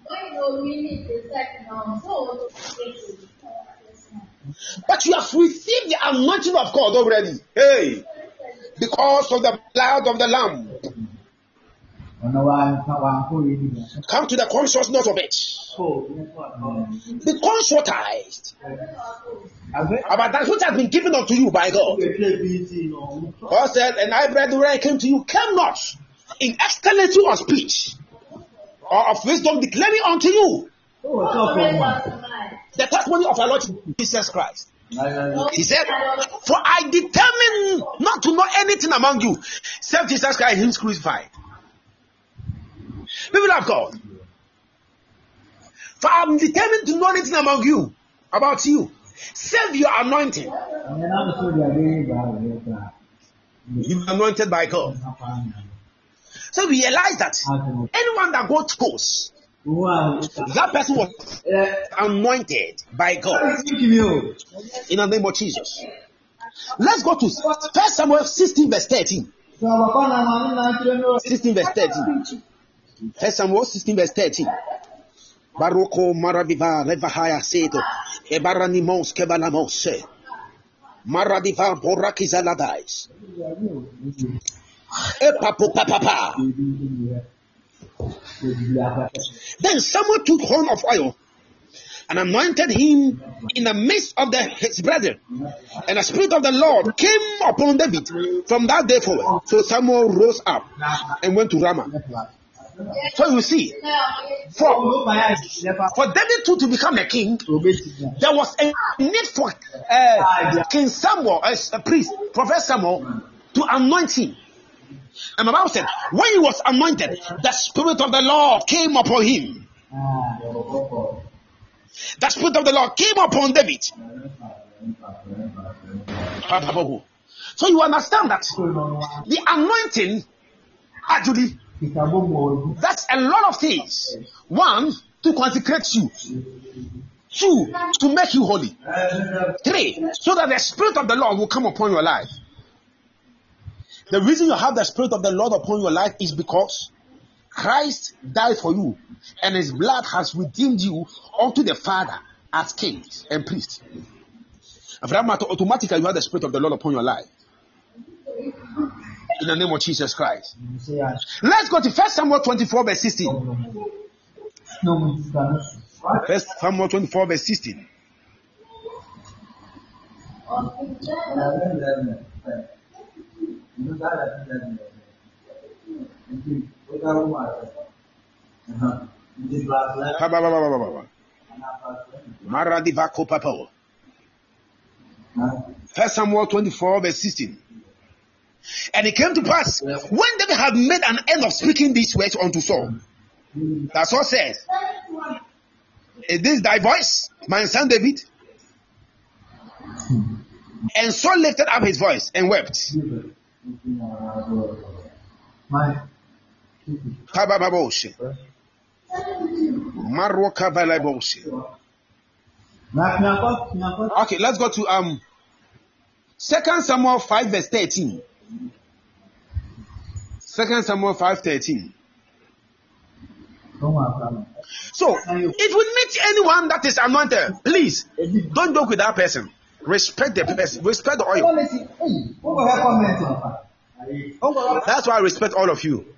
But you have received the anointing of God already. Hey, because of the blood of the Lamb. Come to the consciousness of it. Be conscientized about that which has been given unto you by God. God said, and I, brethren, when I came to you, came not in excellency of speech or of wisdom declaring unto you the testimony of our Lord Jesus Christ. He said, for I determined not to know anything among you except Jesus Christ and him crucified. People of God, for I am determined to know anything among you, about you, save your anointing. You are anointed by God. So we realize that anyone that God chose, that person was anointed by God in the name of Jesus. Let's go to 1 Samuel 16 verse 13. 16 verse 13. 1 Samuel 16 verse 13. Baroko Maradiva Levahaya Seto Ebaranimos Kebalamose Maradiva Borakizaladais Epapopapapa. Then Samuel took horn of oil and anointed him in the midst of his brethren, and the Spirit of the Lord came upon David from that day forward. So Samuel rose up and went to Ramah. So you see, for David to become a king, there was a need for King Samuel, as a priest, Prophet Samuel, to anoint him. And the Bible said, when he was anointed, the Spirit of the Lord came upon him. The Spirit of the Lord came upon David. So you understand that the anointing actually, that's a lot of things. 1, to consecrate you. 2, to make you holy. 3, so that the Spirit of the Lord will come upon your life. The reason you have the Spirit of the Lord upon your life is because Christ died for you, and his blood has redeemed you unto the Father as kings and priests. And for that matter, automatically you have the Spirit of the Lord upon your life. In the name of Jesus Christ. Let's go to 1 Samuel 24 verse 16. 1 Samuel 24 verse 16. First Samuel 24 verse 16. And it came to pass, when David had made an end of speaking these words unto Saul, that Saul said, is this thy voice, my son David? And Saul lifted up his voice and wept. Maroka Valabose. Okay, let's go to 2 Samuel 5 verse 13. 2 Samuel 5:13. So, if we meet anyone that is anointed, please don't joke with that person. Respect the person. Respect the oil. That's why I respect all of you.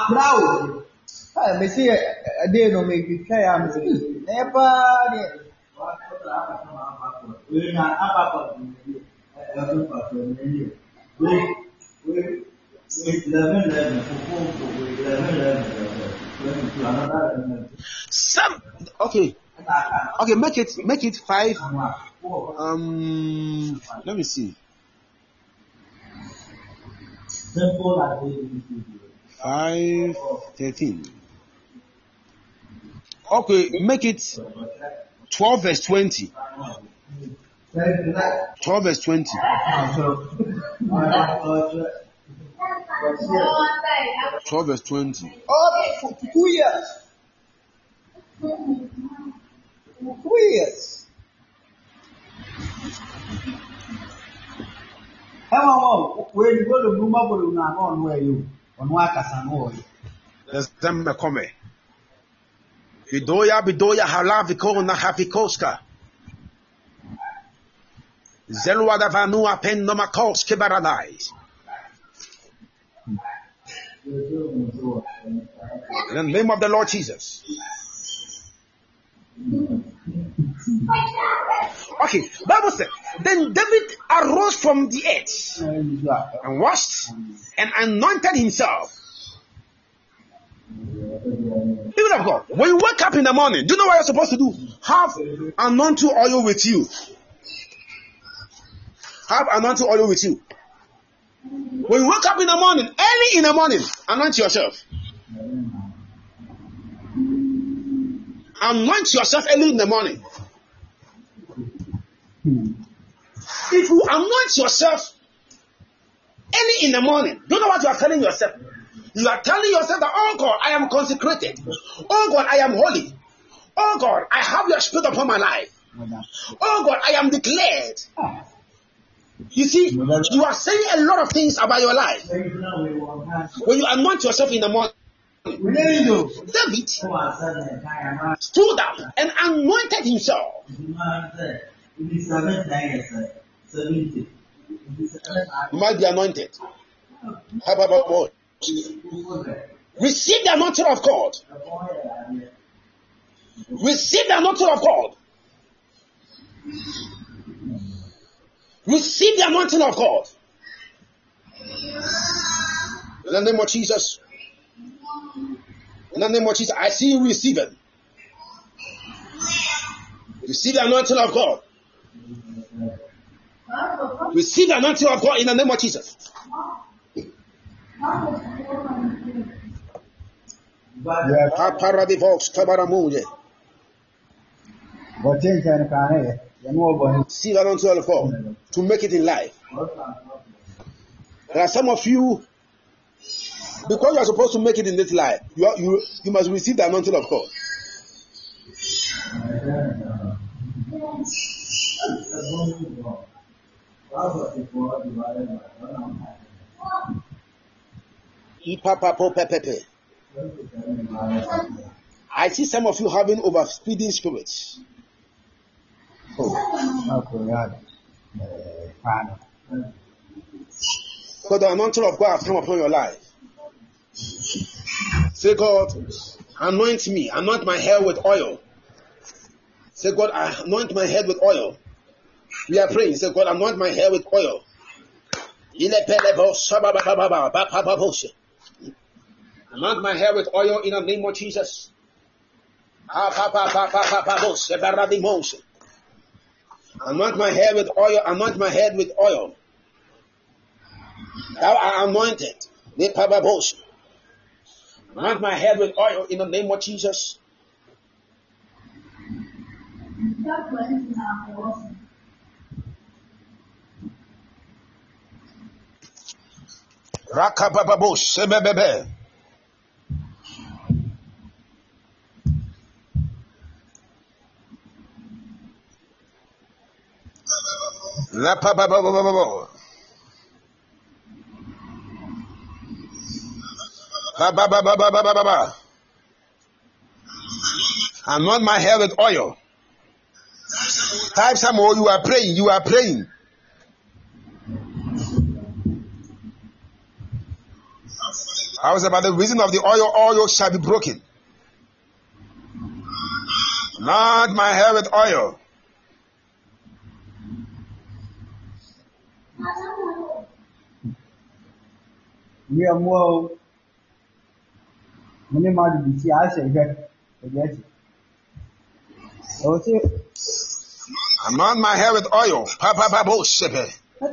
Some okay, make it 5. Let me see. 5:13. Okay, make it 12 verse 20. 12 verse 20. 12 verse 20. Okay, for 2 years. 2 years. There's them come. Bidoya halaviko na hafikoska. Zelwada vanua pen nomakos kibaradais. In the name of the Lord Jesus. Okay, Bible said, then David arose from the earth and washed and anointed himself. People of God, when you wake up in the morning, do you know what you're supposed to do? Have anointing oil with you. Have anointing oil with you. When you wake up in the morning, early in the morning, anoint yourself. Anoint yourself early in the morning. If you anoint yourself early in the morning, do you know what you are telling yourself? You are telling yourself that, oh God, I am consecrated. Oh God, I am holy. Oh God, I have your spirit upon my life. Oh God, I am declared. You see, you are saying a lot of things about your life. When you anoint yourself in the morning, David stood up and anointed himself. You might be anointed. Receive the anointing of God. Receive the anointing of God. Receive the anointing of God. In the name of Jesus. In the name of Jesus, I see you receive it. Receive the anointing of God. Receive the anointing of God in the name of Jesus. See the anointing of God to make it in life. There are some of you, because you are supposed to make it in this life, you must receive the anointing of God. I see some of you having overspeeding spirits. Because the anointing of God has come upon your life. Say, God, anoint me. Anoint my hair with oil. Say, God, anoint my head with oil. We are praying. Say, God, anoint my hair with oil. Anoint my hair with oil in the name of Jesus. Anoint my hair with oil. Anoint my head with oil. Thou art anointed. Anoint my head with oil in the name of Jesus. Rakabababosh sebebebe. Rapapapapapapa. Ba-ba-ba-ba-ba-ba-ba-ba. Anoint my hair with oil. Type some more. You are praying. You are praying. I was about the reason of the oil. Oil shall be broken. Anoint my hair with oil. We are more. Many more to see. I say that. Anoint my hair with oil. Papa Babo Shepe.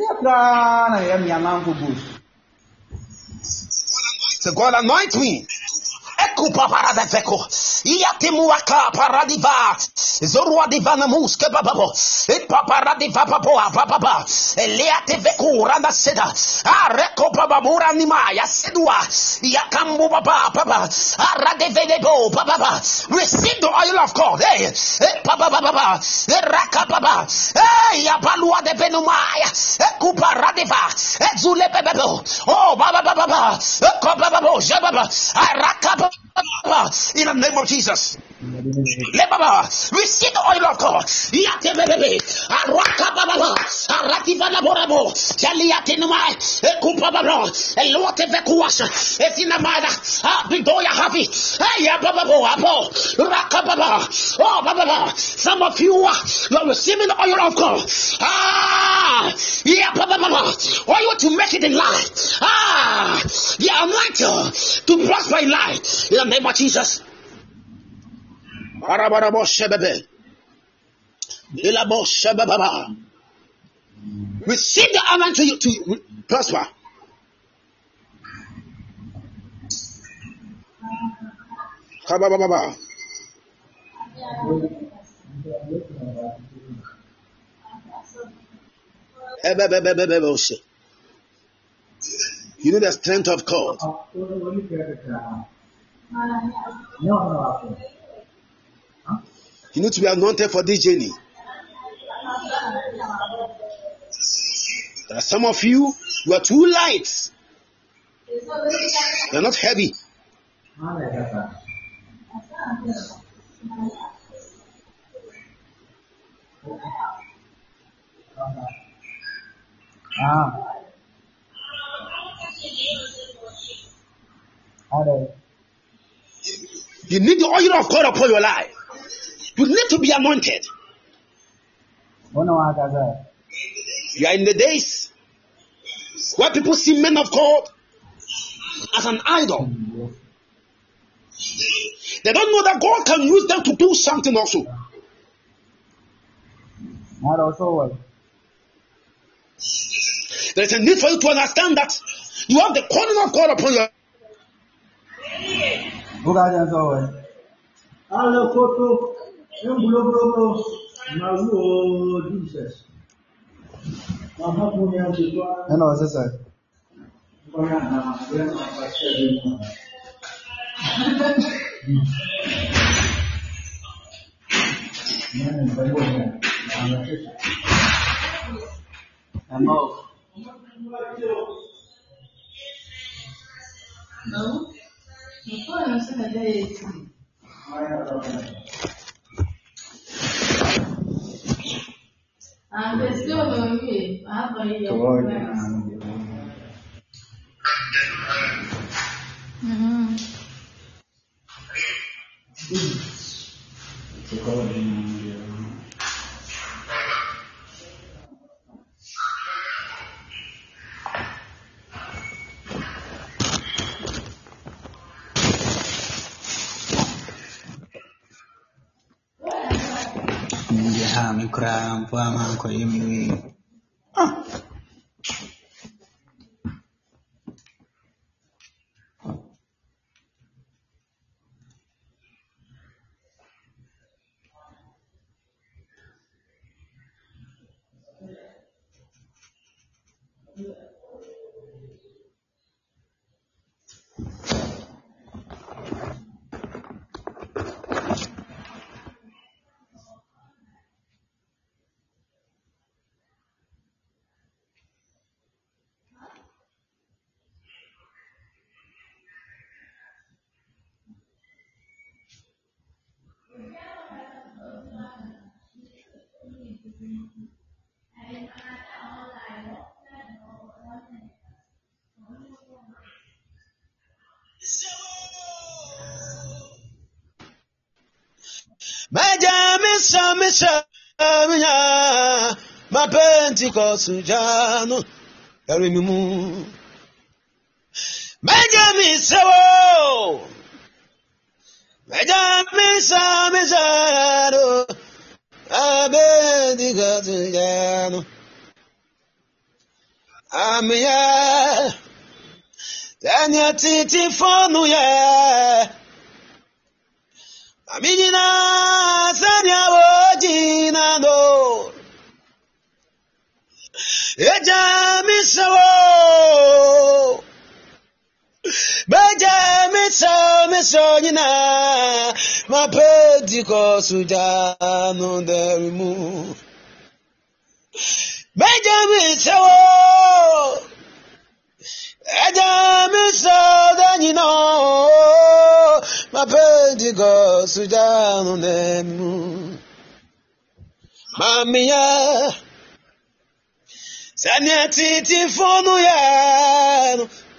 So God anoint me. Ekupa parada veko. Iatimuaka paradiva. Zorua divana muske bababo. Epa paradiva papoa papapa. Eliate veku rada seda. Areko bababura nimaya sedua. Yakambu papa papa. Arade vedebo papa. Receive the oil of God. Hey. Papa papa. Raka papa. Hey. Yapalua de venumaya. Ekupa radiva. Ezule bebebo. Oh baba baba. Ekopa bababo. Jababa. Araka in the name of Jesus. Receive the oil of God. Some of you are receiving the oil of God. Oil to make it in life. The anointing to prosper in life. In the name of Jesus. Receive the anointing to prosper. You need the strength of God. You need to be anointed for this journey. There are some of you are too light. You're not heavy. You need the oil of God upon your life. You need to be anointed. You are in the days where people see men of God as an idol. They don't know that God can use them to do something also. There is a need for you to understand that you have the calling of God upon your Misa, my Pentecost, Jano, Erimu. Misa, Pentecost, Jano, Amia, Dania Titi Fonuya. Aminina Sanya Wojina no Eja miso nina ma Pentecost no derimu Beja miso Eja miso danino ma Pentecost no derimu Mamia Sanya titi fonu ya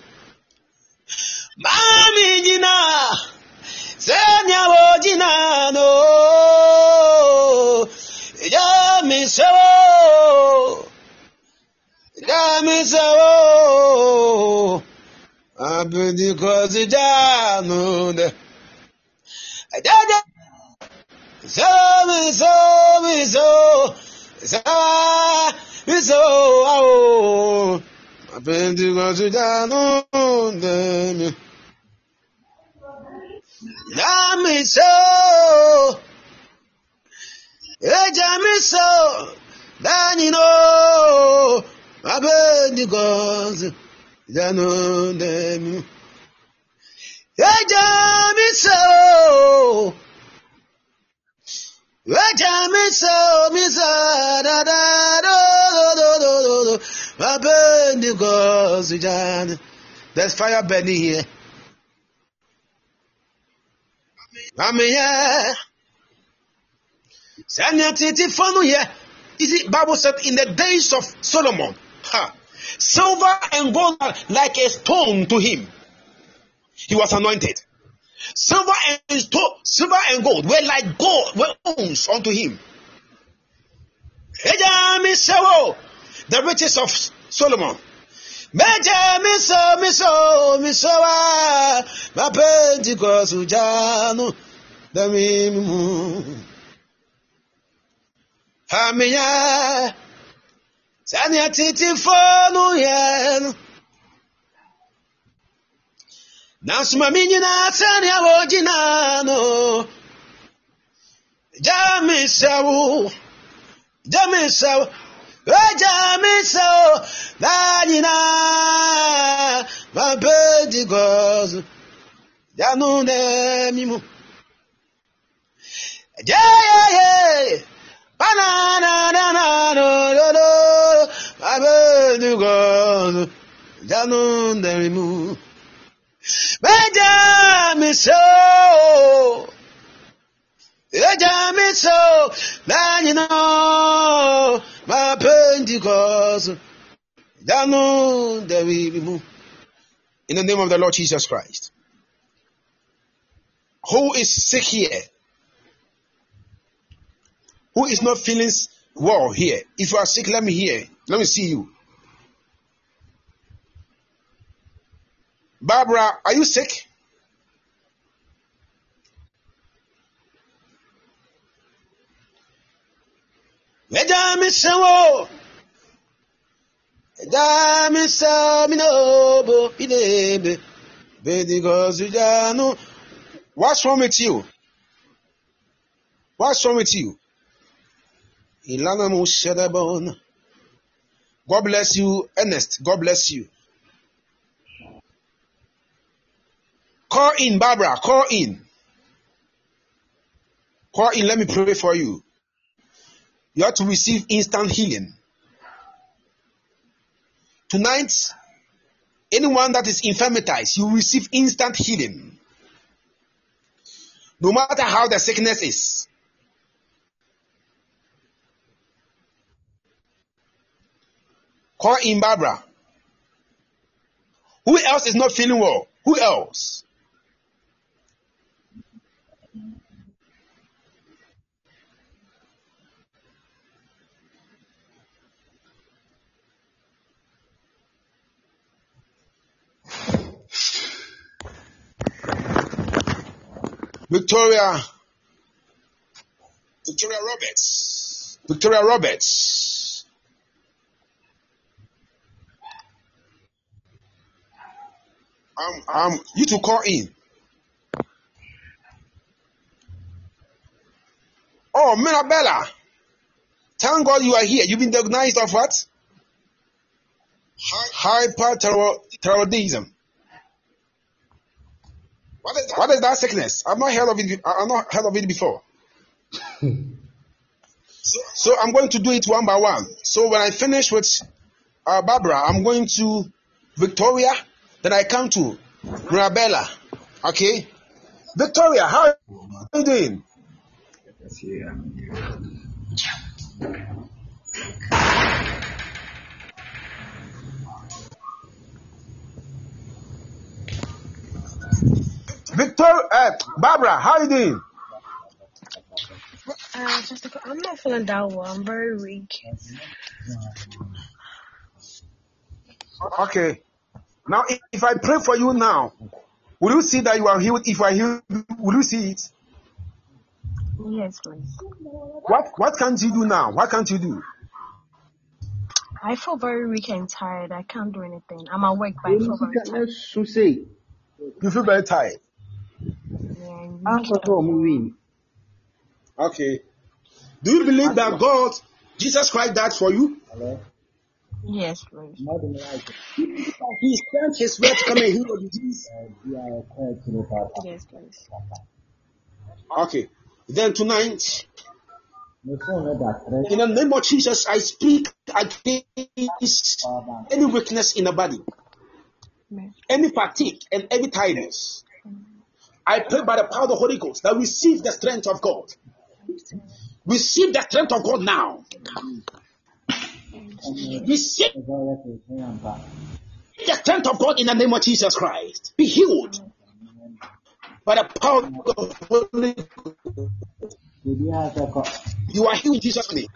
Mami jina Sanya wojina no Jamiso Pentecost no de So, my Pentecost no de Jamiso, Danino, my Pentecost no de Jamiso, Misa, da da do, my Pentecost, there's fire burning here. Amen. You see, Bible said in the days of Solomon, silver and gold are like a stone to him. He was anointed. Silver and gold were like gold, were owns unto him. The riches of Solomon. Miso, my Pentecost, Jano, the Mimu. Hamia, Sanya Titi Fonu Yen. Nasmamina Sanya Wojinano. Jamiso, Danina, my Pentecost, Janu Nemimu. Jay, Banana, my Pentecost, Janu Nemimu. Jamiso, Danina, my Pentecost, Janu Nemimu. In the name of the Lord Jesus Christ. Who is sick here? Who is not feeling well here? If you are sick, let me hear. Let me see you. Barbara, are you sick? What's wrong with you? What's wrong with you? God bless you, Ernest. God bless you. Call in, Barbara. Call in. Call in. Let me pray for you. You have to receive instant healing. Tonight, anyone that is infirmitized, you receive instant healing. No matter how the sickness is. Call in Barbara. Who else is not feeling well? Who else? Victoria Roberts. Victoria Roberts. You to call in. Oh, Mirabella. Thank God you are here. You've been diagnosed of what? Hyperthyroidism. What is that sickness? I've not heard of it before. So I'm going to do it one by one. So when I finish with Barbara, I'm going to Victoria. Then I come to Mirabella. Okay? Victoria, how are you doing? Barbara, how are you doing? I'm not feeling that well. I'm very weak. Okay. Now, if I pray for you now, will you see that you are healed? If I heal, will you see it? Yes, please. What can't you do now? What can't you do? I feel very weak and tired. I can't do anything. I'm awake, but I feel very tired. You feel very tired. Yeah, I'm weak. Okay. Do you believe that God, Jesus Christ, died for you? Yes, please. He sent His word to come and heal your disease. Yes, please. Okay. Then tonight, in the name of Jesus, I speak against any weakness in the body, any fatigue, and every tiredness. I pray by the power of the Holy Ghost that receive the strength of God. Receive the strength of God now. Receive the strength of God in the name of Jesus Christ. Be healed by the power of the Holy Ghost. You are healed in Jesus' name.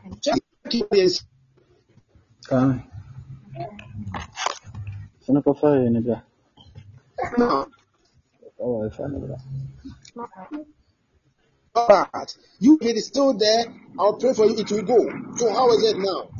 But you, if it is still there, I'll pray for you. It will go. So how is it now?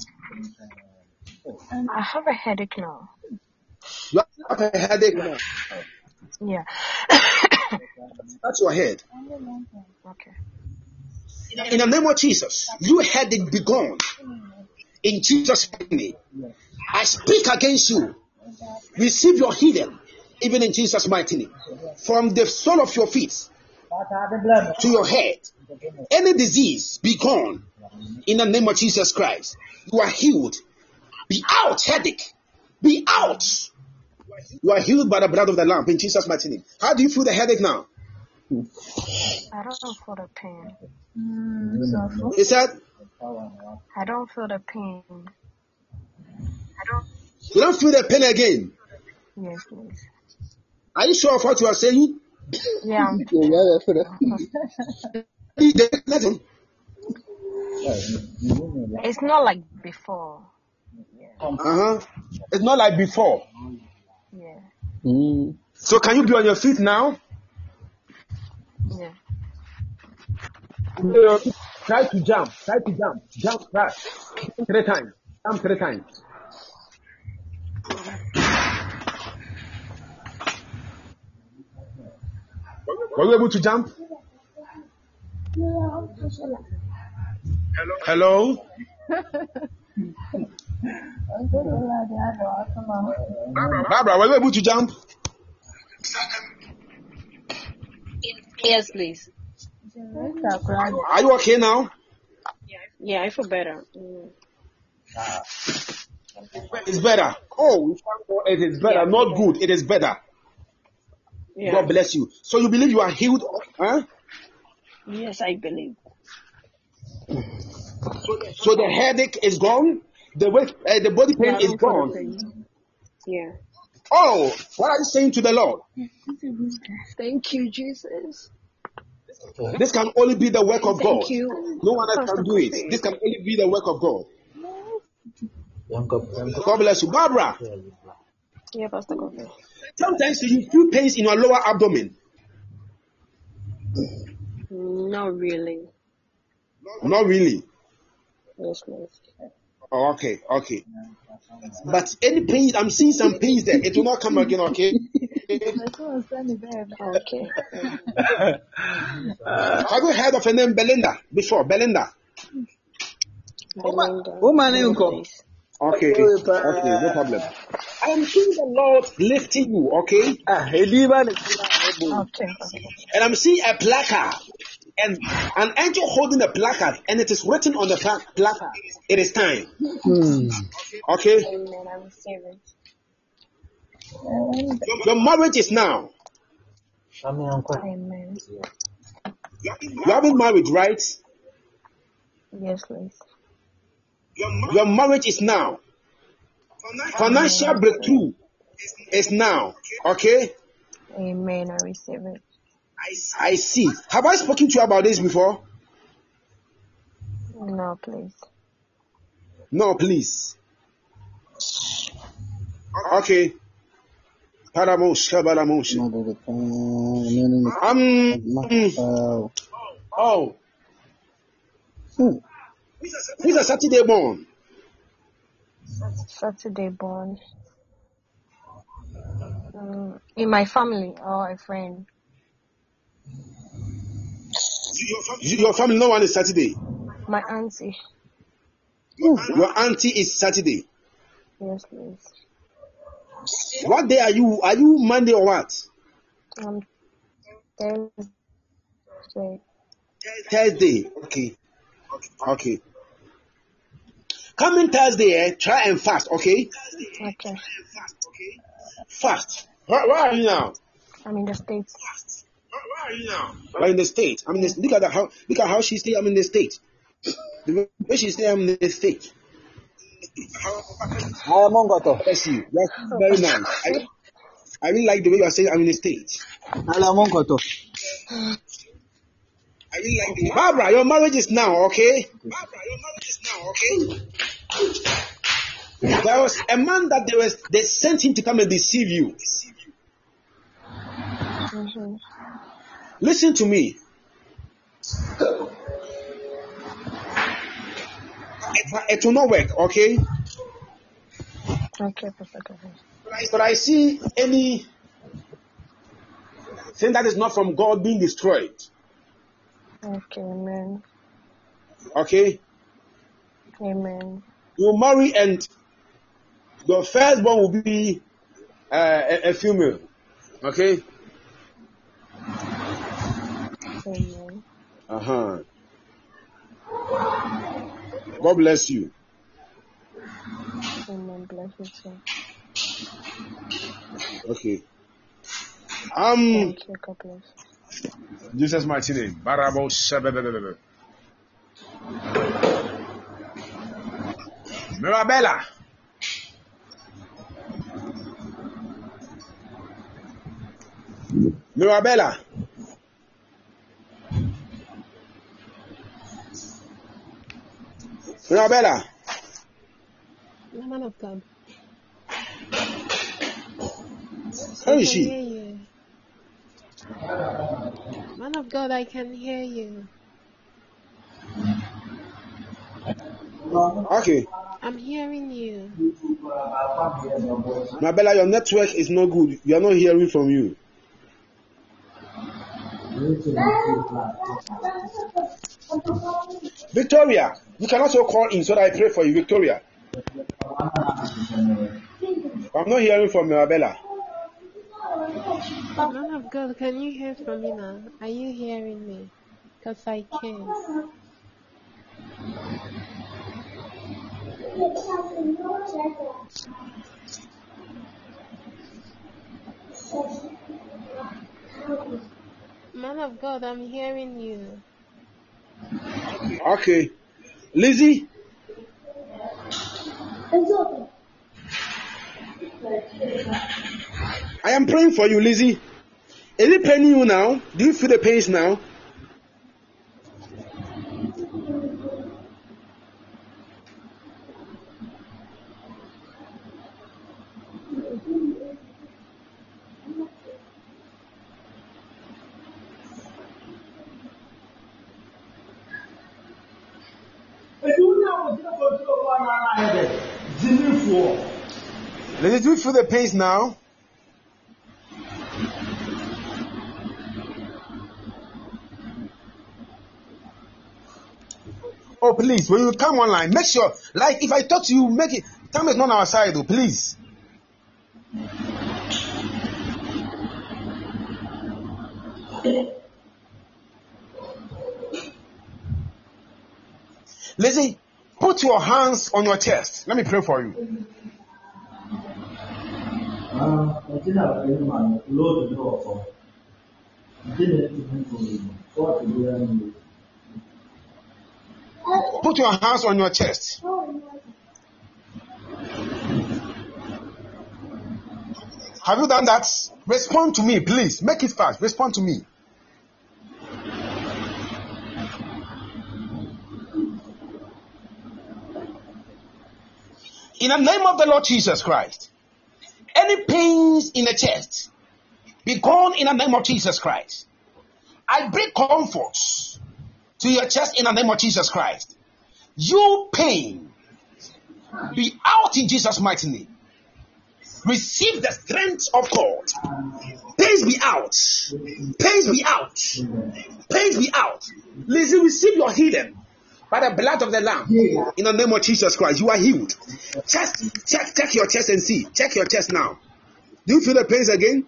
I have a headache now. You have a headache now. Yeah. That's your head. Okay. In the name of Jesus, you headache be gone. In Jesus' name, I speak against you. Receive your healing, even in Jesus' mighty name. From the sole of your feet to your head, any disease be gone. In the name of Jesus Christ, you are healed. Be out, headache. Be out. You are healed by the blood of the Lamb in Jesus' mighty name. How do you feel the headache now? I don't feel the pain. He said, I don't feel the pain. you don't feel the pain again. Yes, please. Are you sure of what you are saying? Yeah. It's not like before. It's not like before. Yeah. So can you be on your feet now? Yeah. Try to jump. Jump fast. 3 times. Jump 3 times. Were you able to jump? Hello? Barbara, were you able to jump? Yes, please. Are you okay now? Yeah, I feel better. It's better. Oh, it is better. Not good. It is better. Yeah. God bless you. So you believe you are healed? Huh? Yes, I believe. So the headache is gone. the body pain is gone. Yeah. Oh, what are you saying to the Lord? Thank you, Jesus. This can only be the work of God. Thank you. No one else can do it. This can only be the work of God. God bless you. Barbara, Yeah, Pastor Coffee. sometimes you feel pains in your lower abdomen. Not really. Not really. Yes, please. Oh, okay. But any pain, I'm seeing some pains there. It will not come again, okay? Okay. Have you heard of her name Belinda before? Belinda. Belinda. Please. Okay, no problem. I am seeing the Lord lifting you, okay? Okay. And I'm seeing a placard and an angel holding a placard, and it is written on the placard, it is time. Okay? Amen. I receive it. Your marriage is now. Amen. You haven't married, right? Yes, please. Your marriage is now. Financial breakthrough is now. Okay? Amen. I receive it. I see. Have I spoken to you about this before? No, please. No, please. Okay. Oh. Who's a Saturday born? Saturday born. In my family or a friend? Your family, no one is Saturday. My auntie. Your auntie is Saturday. Yes, please. What day are you? Are you Monday or what? Thursday. Okay. Coming Thursday, try and fast, okay? Okay. Fast. Where are you now? I'm in the States. Where are you now? I'm in the States. Look at how she say I'm in the States. The way she say I'm in the States. Bless you. That's very nice. I really like the way you are saying I'm in the States. Barbara, your marriage is now, okay? There was a man that they sent him to come and deceive you. Mm-hmm. Listen to me. It will not work, okay? Okay, perfect. But I see any thing that is not from God being destroyed. Okay, amen. Okay? Amen. You marry and the firstborn will be a female. Okay? Amen. God bless you. Amen. Bless you too. Okay. Thank you. God bless. Jesus' mighty name. Barabo Shabababa. Mirabella. Man of God. How is she? Hear you. Man of God, I can hear you. Okay. I'm hearing you. Mirabella, your network is not good. We are not hearing from you. Victoria, you can also call in so that I pray for you, Victoria. I'm not hearing from Mirabella. Man of God, can you hear from me now? Are you hearing me? Because I can. Man of God, I'm hearing you. Okay. Lizzie? I am praying for you, Lizzie. Is it paining you now? Do you feel the pains now? Lizzie, do you feel the pains now? Oh, please, when you come online, make sure, like, if I talk to you, make it, time is not on our side, though, please. Lizzie, put your hands on your chest. Let me pray for you. Put your hands on your chest. Have you done that? Respond to me, please. Make it fast. Respond to me. In the name of the Lord Jesus Christ, any pains in the chest, be gone in the name of Jesus Christ. I bring comfort to your chest in the name of Jesus Christ. You pain, be out in Jesus' mighty name. Receive the strength of God. Pains be out. Pains be out. Pains be out. Listen, receive your healing by the blood of the Lamb. In the name of Jesus Christ, you are healed. Check your chest and see. Check your chest now. Do you feel the pains again?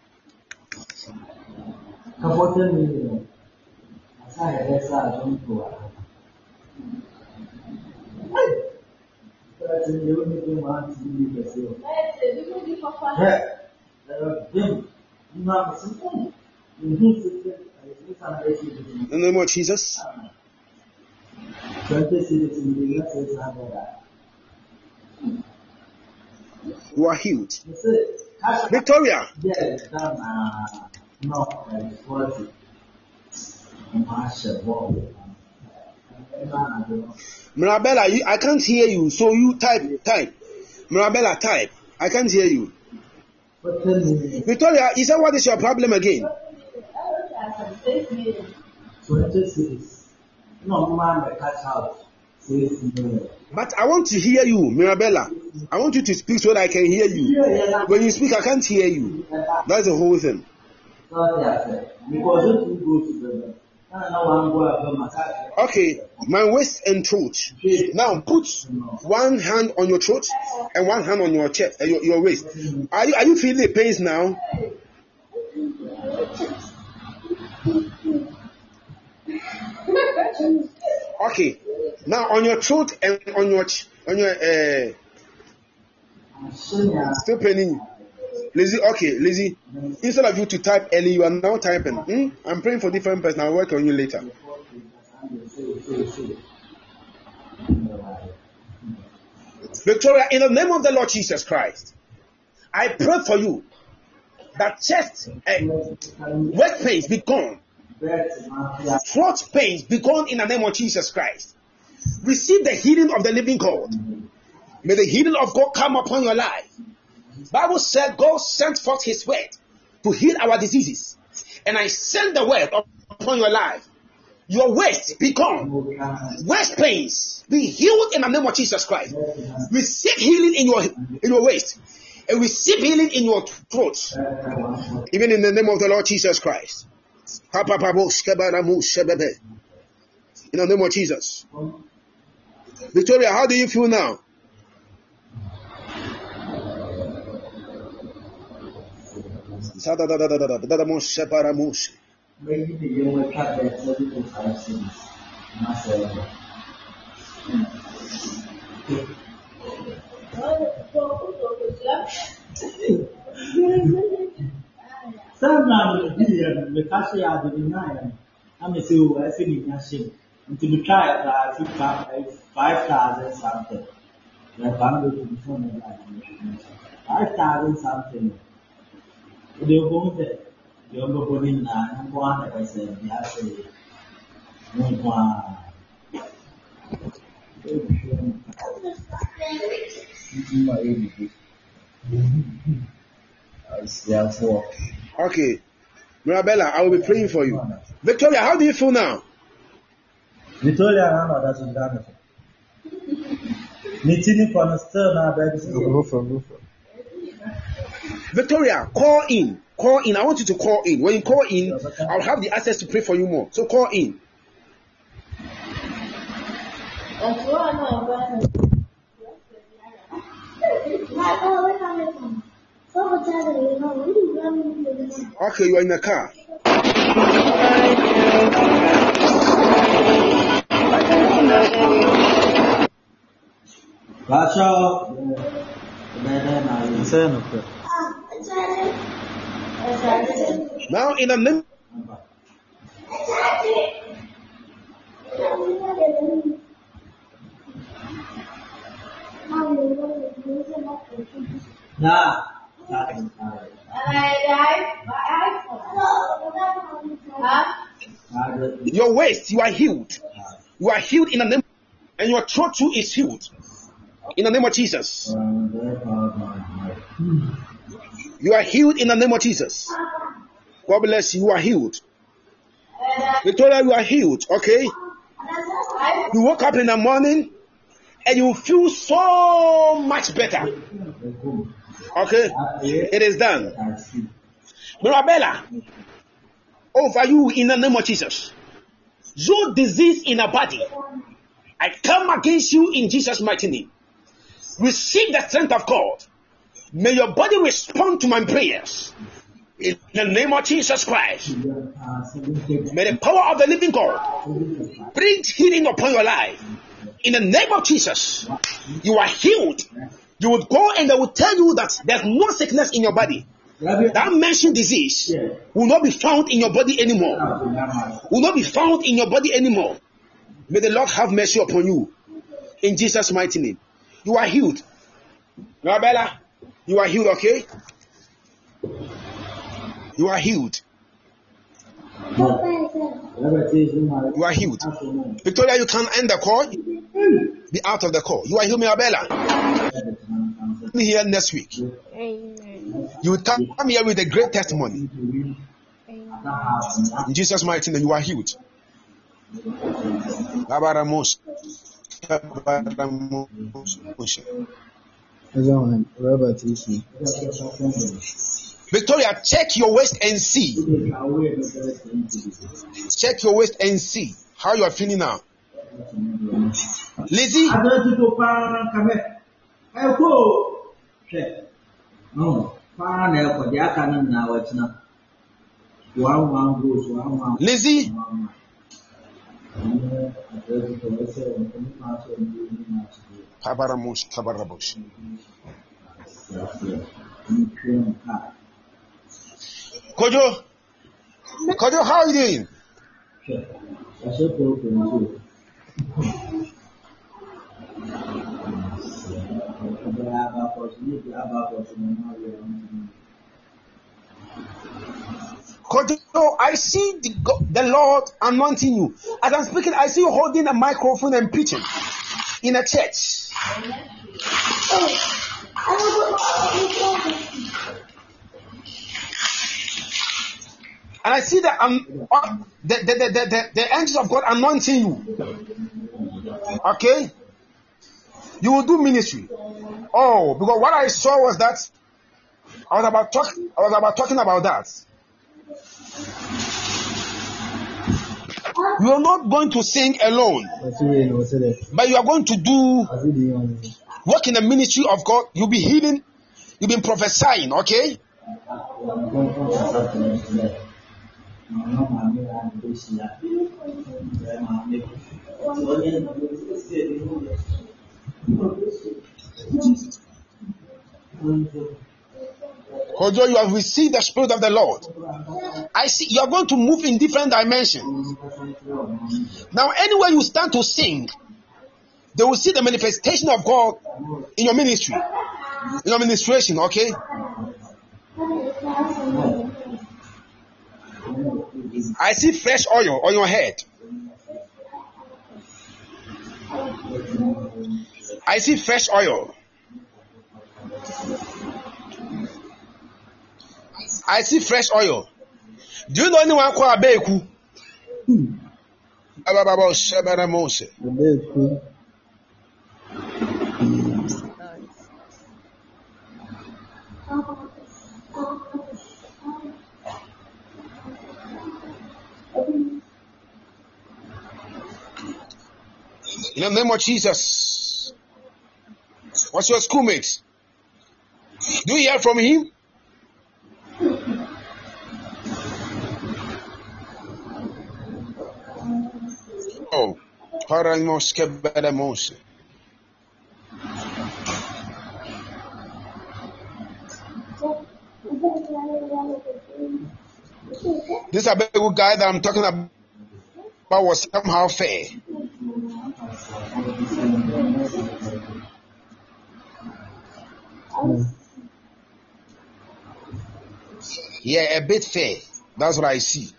In the name of Jesus. You are healed. Victoria. Mirabella, I can't hear you, so you type. Mirabella, type. I can't hear you. Victoria, is that what is your problem again? But I want to hear you, Mirabella. I want you to speak so that I can hear you. When you speak, I can't hear you. That's the whole thing. Okay, my waist and throat. Now put one hand on your throat and one hand on your chest, your waist. Are you feeling the pains now? Okay, now on your throat and on your still paining. Lizzie, okay, Lizzie, instead of you to type early, you are now typing. I'm praying for different person. I'll work on you later. Victoria, in the name of the Lord Jesus Christ, I pray for you that chest waist pains be gone. Throat pains be gone in the name of Jesus Christ. Receive the healing of the living God. May the healing of God come upon your life. Bible said God sent forth his word to heal our diseases. And I send the word upon your life. Your waist be gone. Waist pains be healed in the name of Jesus Christ. Receive healing in your waist. And receive healing in your throat. Even in the name of the Lord Jesus Christ. In the name of Jesus. Victoria, how do you feel now? I started something. The opponent, the opponent, and one I said, Okay. Mirabella, I will be praying for you. Victoria, how do you feel now? Victoria, I know that's wonderful. Victoria, call in. Call in. I want you to call in. When you call in, I'll have the access to pray for you more. So call in. Okay, you are in the car. Now in the name your waist, you are healed. You are healed in the name, and your throat too is healed in the name of Jesus. You are healed in the name of Jesus. God bless you. You are healed. Victoria, you are healed. Okay. You woke up in the morning and you feel so much better. Okay. It is done. Mirabella, over you in the name of Jesus. Your disease in a body, I come against you in Jesus' mighty name. Receive the strength of God. May your body respond to my prayers. In the name of Jesus Christ. May the power of the living God bring healing upon your life. In the name of Jesus. You are healed. You would go and they will tell you that there's no sickness in your body. That mentioned disease will not be found in your body anymore. Will not be found in your body anymore. May the Lord have mercy upon you. In Jesus' mighty name. You are healed. Rabella, you are healed, okay? You are healed. You are healed. Victoria, you can end the call. Be out of the call. You are healed, Mirabella. Be here next week. Amen. You will come here with a great testimony. Amen. In Jesus' mighty name, you are healed. Victoria, check your waist and see. Check your waist and see how you are feeling now. Lizzie, Lizzie, Kojo, how are you doing? Kojo, I see the Lord anointing you. As I'm speaking, I see you holding a microphone and preaching in a church. And I see that the angels of God anointing you. Okay? You will do ministry. Oh, because what I saw was that I was about talking about that. You are not going to sing alone, but you are going to work in the ministry of God. You'll be healing. You'll be prophesying. Okay? Although you have received the Spirit of the Lord, I see you are going to move in different dimensions. Now, anywhere you stand to sing, they will see the manifestation of God in your ministry, in your administration, okay? I see fresh oil on your head. I see fresh oil. I see fresh oil. Do you know anyone called Abeku? In the name of Jesus. What's your schoolmate? Do you hear from him? Oh, this Abeku guy that I'm talking about was somehow fair. Yeah, a bit fair. That's what I see.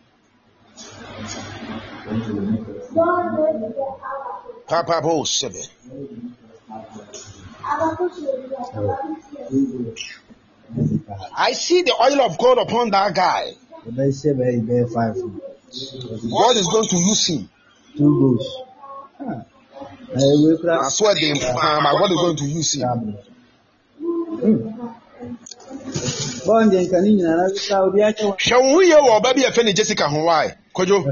Papa Bo 7. I see the oil of God upon that guy. God is going to use him. 2 goals. I swear God is going to use him. Shall we hear what baby Fanny Jessica Hawaii? Kojo.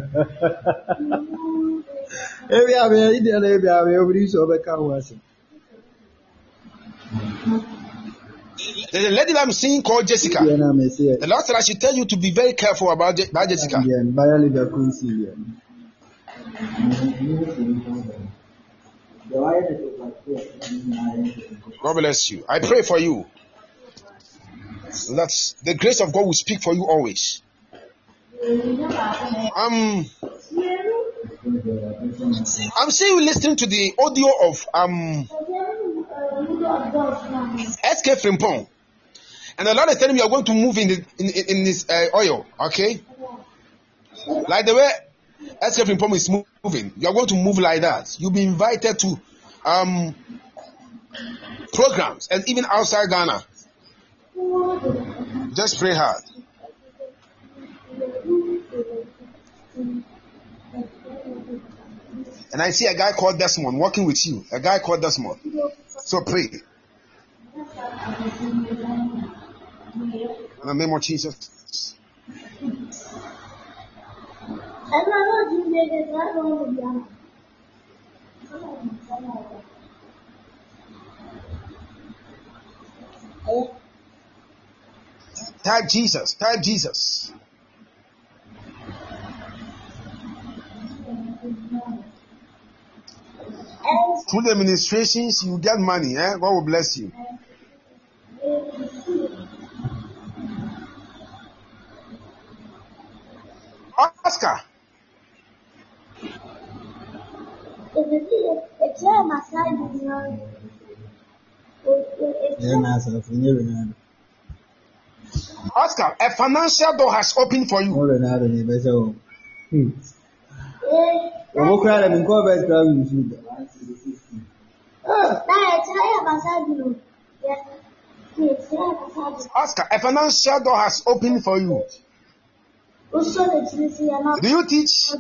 There's a lady I'm seeing called Jessica. The Lord said I should tell you to be very careful about Jessica. God bless you. I pray for you that the grace of God will speak for you always. I'm seeing you listening to the audio of SK Frimpong, and the Lord is telling me you are going to move in this oil, okay? Like the way SK Frimpong is moving, you are going to move like that. You'll be invited to programs and even outside Ghana. Just pray hard. And I see a guy called Desmond working with you. A guy called Desmond. So pray. In the name of Jesus. Type Jesus. Type Jesus. Through the administrations, you get money. God will bless you. Oscar. Oscar, a financial door has opened for you. Oscar, a financial door has opened for you. Do you teach?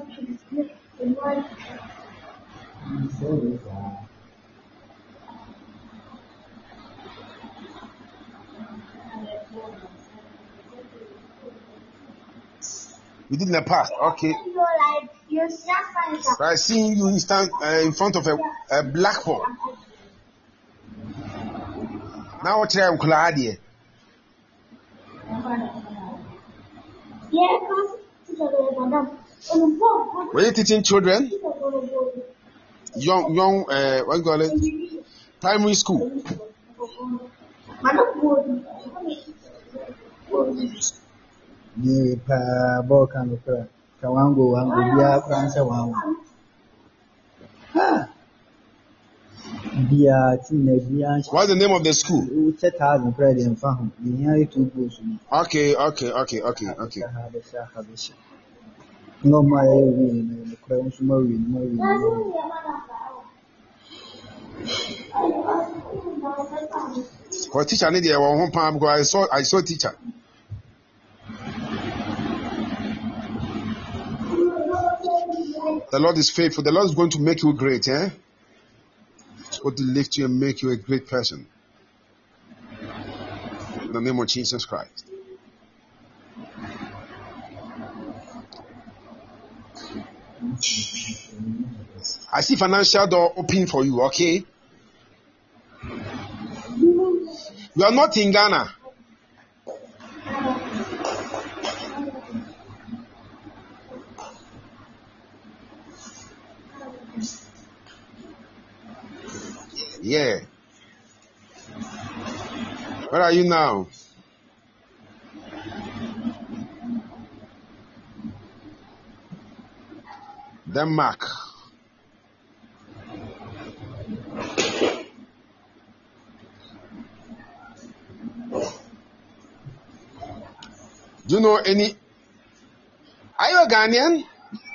You did in the past, okay. I seeing you stand in front of a blackboard. Now what I'm glad here. Were you teaching children? Young, what you call it? Primary school. What's the name of the school? Okay. For teacher, I need the one pound because I saw teacher. The Lord is faithful. The Lord is going to make you great, eh? He's going to lift you and make you a great person. In the name of Jesus Christ. I see financial door open for you, okay? You are not in Ghana. Yeah. Where are you now? Denmark. Do you know any? Are you a Ghanaian?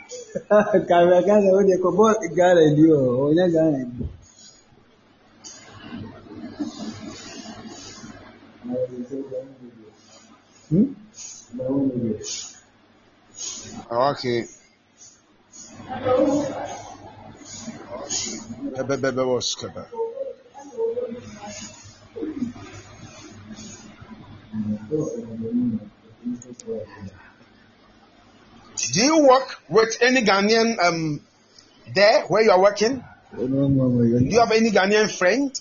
Okay. Do you work with any Ghanaian there where you are working? Do you have any Ghanaian friend?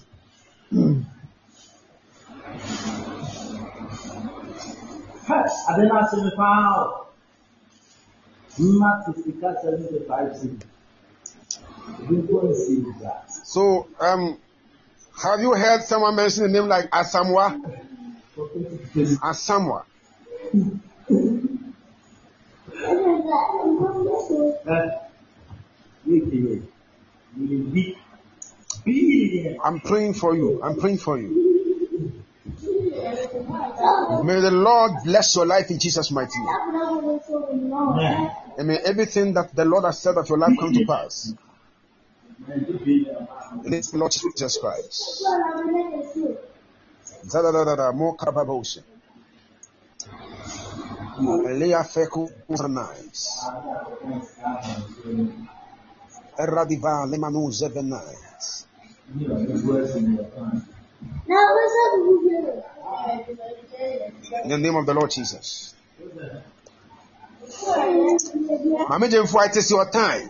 So, have you heard someone mention a name like Asamoah? Asamoah. I'm praying for you. May the Lord bless your life in Jesus' mighty name. And may everything that the Lord has said of your life come to pass. In the Lord Jesus Christ. More kababosha. Elia feku nice. Eradiva lemanu zevenite. In the name of the Lord Jesus. Mama Jemfo, it is your time.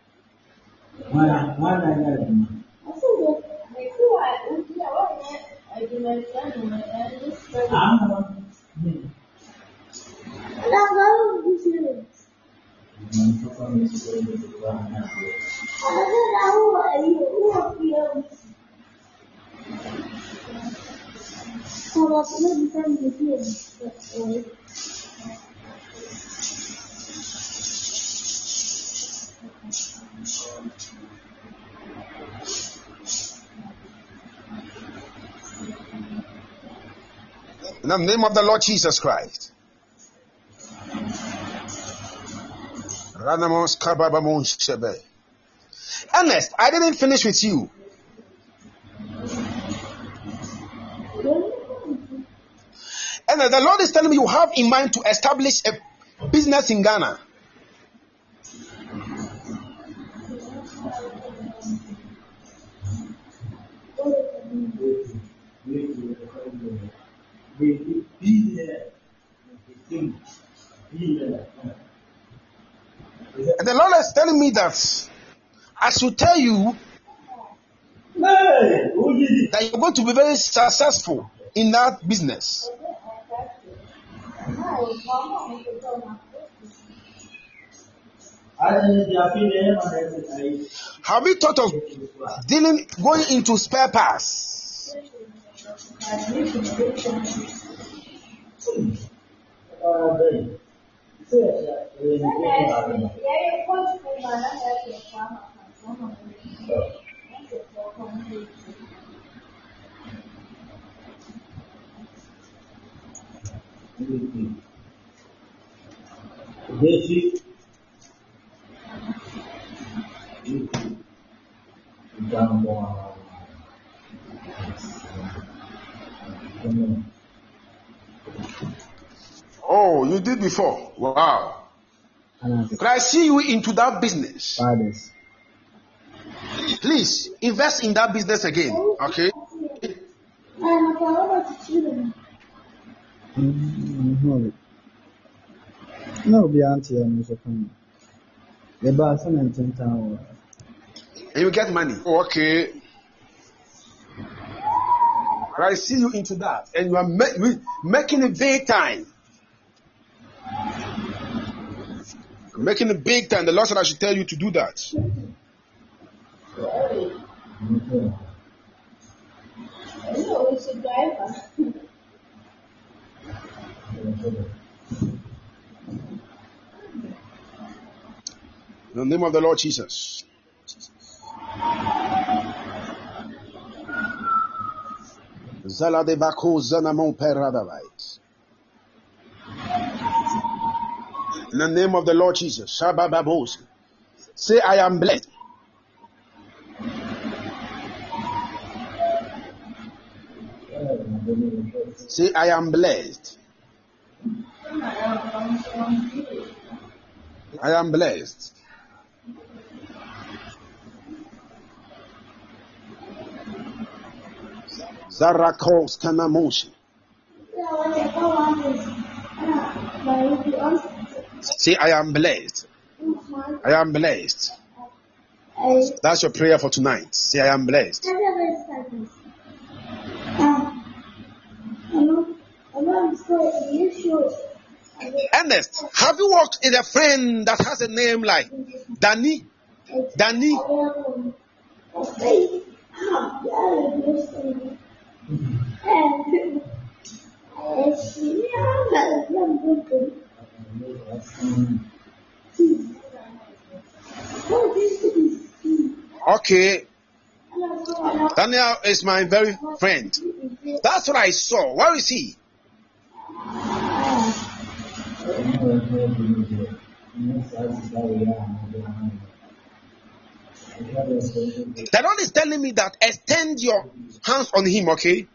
In the name of the Lord Jesus Christ. Ernest, I didn't finish with you. And the Lord is telling me you have in mind to establish a business in Ghana. And the Lord is telling me that I should tell you that you're going to be very successful in that business. Have you thought of going into spare parts? Oh, you did before. Wow. Could I see you into that business? Please invest in that business again. Okay. No, be auntie and Mr. Khan. The bar in town. And you get money. Oh, okay. I see you into that, and you are making a big time. Making a big time. The Lord said I should tell you to do that. In the name of the Lord Jesus. Zala de Bako Zanamon Peradavite. In the name of the Lord Jesus. Shabababos. Say, I am blessed. Say, I am blessed. I am blessed. Zarakos Kanamoshi. Say, I am blessed. I am blessed. That's your prayer for tonight. Say, I am blessed. Ernest, have you worked with a friend that has a name like Danny? Danny? Okay. Daniel is my very friend. That's what I saw. Where is he? The Lord is telling me that extend your hands on him, okay?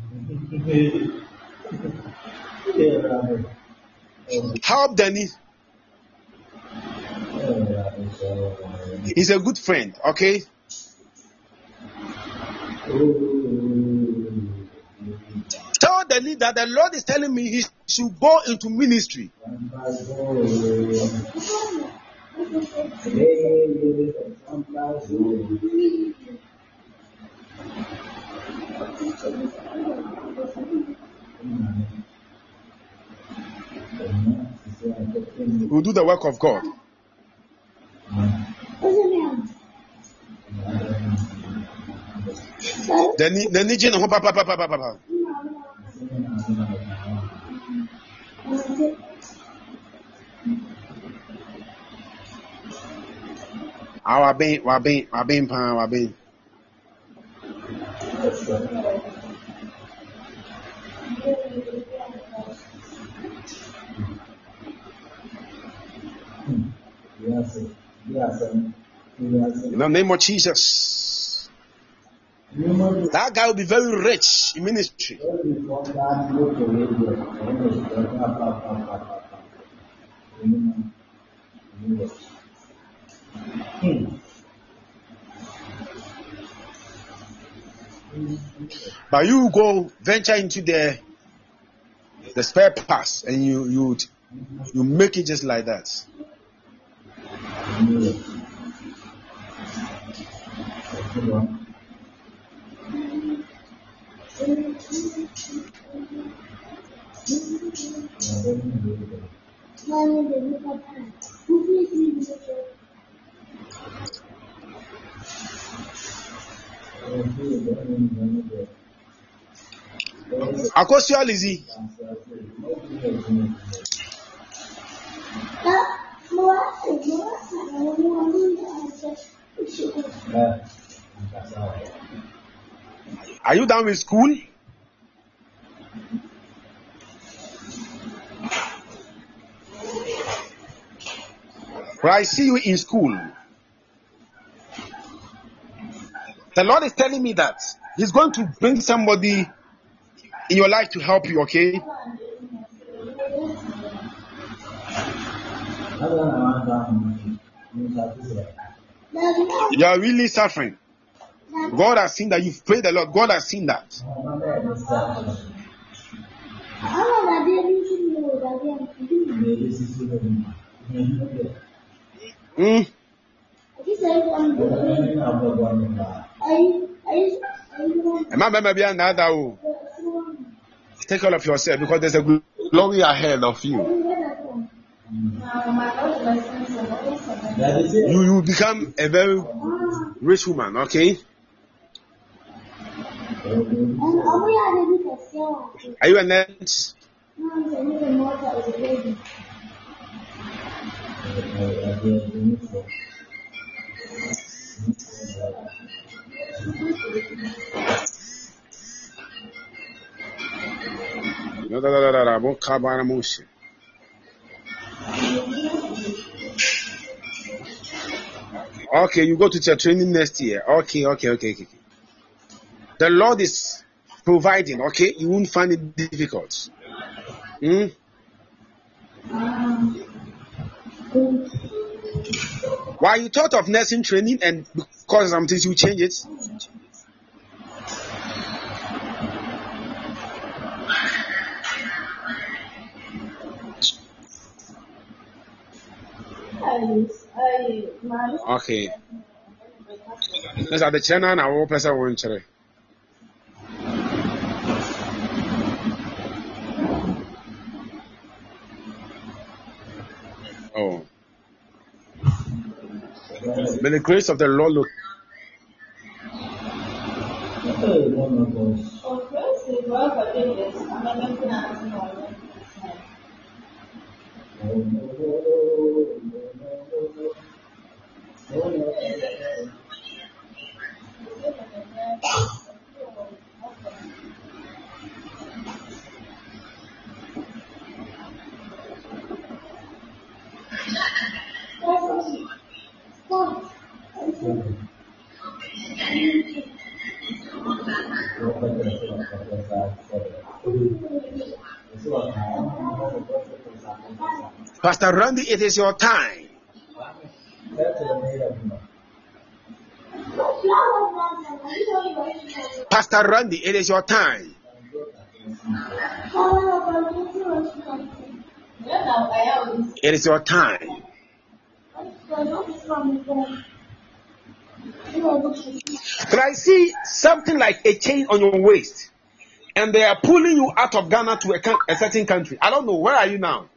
Help Danny. He's a good friend, okay? Tell Danny that the Lord is telling me he should go into ministry. We'll do the work of God. In the name of Jesus, that guy will be very rich in ministry. But you go venture into the spare parts and you make it just like that. Akosua Lizzie. Are you done with school? But I see you in school. The Lord is telling me that He's going to bring somebody in your life to help you, okay? You are really suffering. God has seen that. You've prayed a lot. God has seen that. Take care of yourself because there's a glory ahead of you. You become a very rich woman, okay? Are you a nurse? Okay, you go to your training next year. Okay. The Lord is providing, okay? You won't find it difficult. Why you thought of nursing training and because something you change it? Okay. Let's have the channel and our person won't try. Oh. May the grace of the Lord look. Pastor Randy, it is your time. Pastor Randy, it is your time. It is your time. But I see something like a chain on your waist, and they are pulling you out of Ghana to a certain country. I don't know. Where are you now?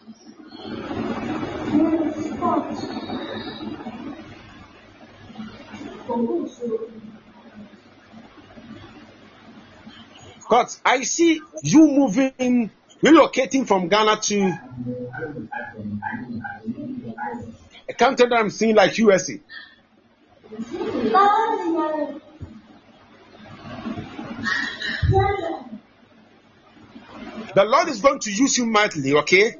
But I see you moving, relocating from Ghana to a country that I'm seeing like USA. The Lord is going to use you mightily, okay?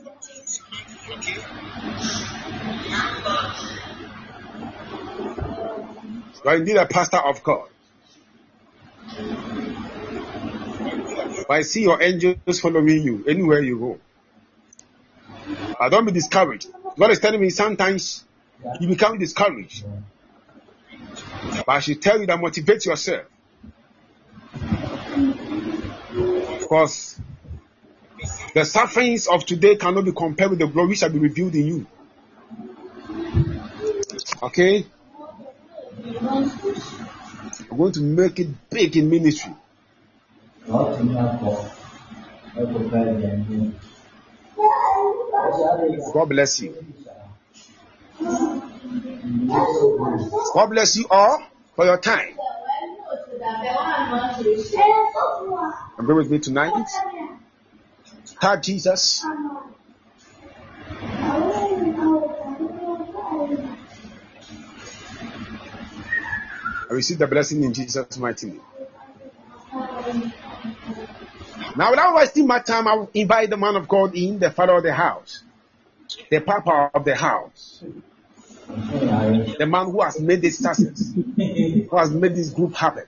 You are indeed a pastor of God. But I see your angels following you anywhere you go. Don't be discouraged. God is telling me sometimes you become discouraged. But I should tell you that motivate yourself. Because the sufferings of today cannot be compared with the glory shall be revealed in you. Okay? I'm going to make it big in ministry. God bless you. God bless you all for your time. Agree with me tonight. Thank Jesus. I receive the blessing in Jesus' mighty name. Now, without wasting my time, I will invite the man of God in, the father of the house. the papa of the house, the man who has made this success, who has made this group happen.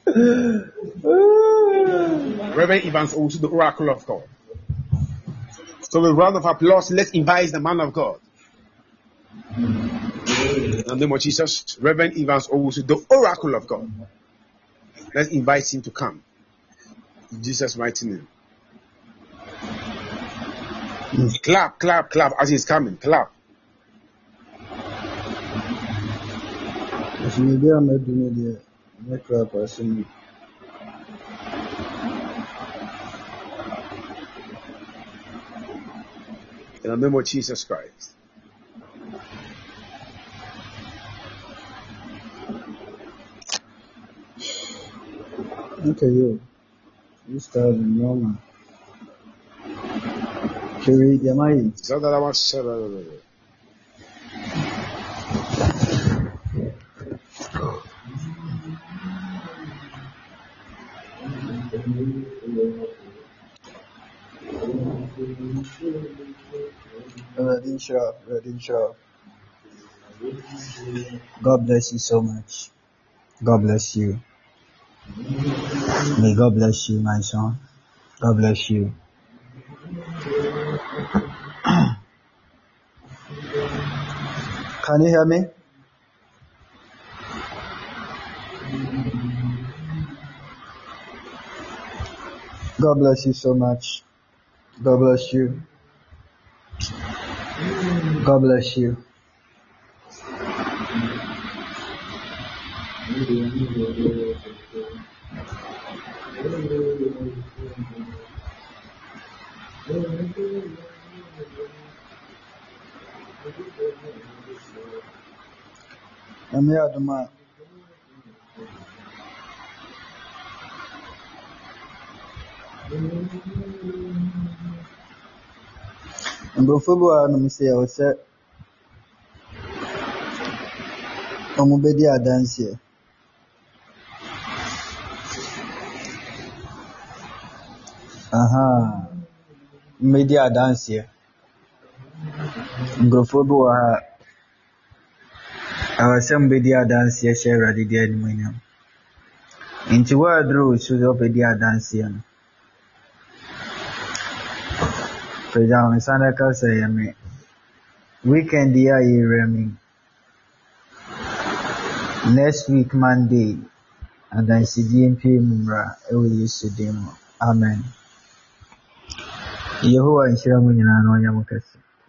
Reverend Evans Owusu, the oracle of God. So with a round of applause, let's invite the man of God. In the name of Jesus, Reverend Evans Owusu, the oracle of God. Let's invite him to come. In Jesus' mighty name. Clap, clap, clap as he's coming. Clap. In the name of Jesus Christ. Okay, you start normal. Kiri, Yamai. Radin. God bless you so much. God bless you. May God bless you, my son. God bless you. Can you hear me? God bless you so much. God bless you. God bless you. I'm here at the man. And before I say, I was said, I'm going to dance here. Media dance here. Before I was some media dance here, share ready there in Minam. Into where drew to up a dear dance here. For example, Sandaka say, I mean, weekend here, you next week, Monday, and then CDMP Mumra, will use to demo. Amen. Yehovah and Shiramun and Yamukas.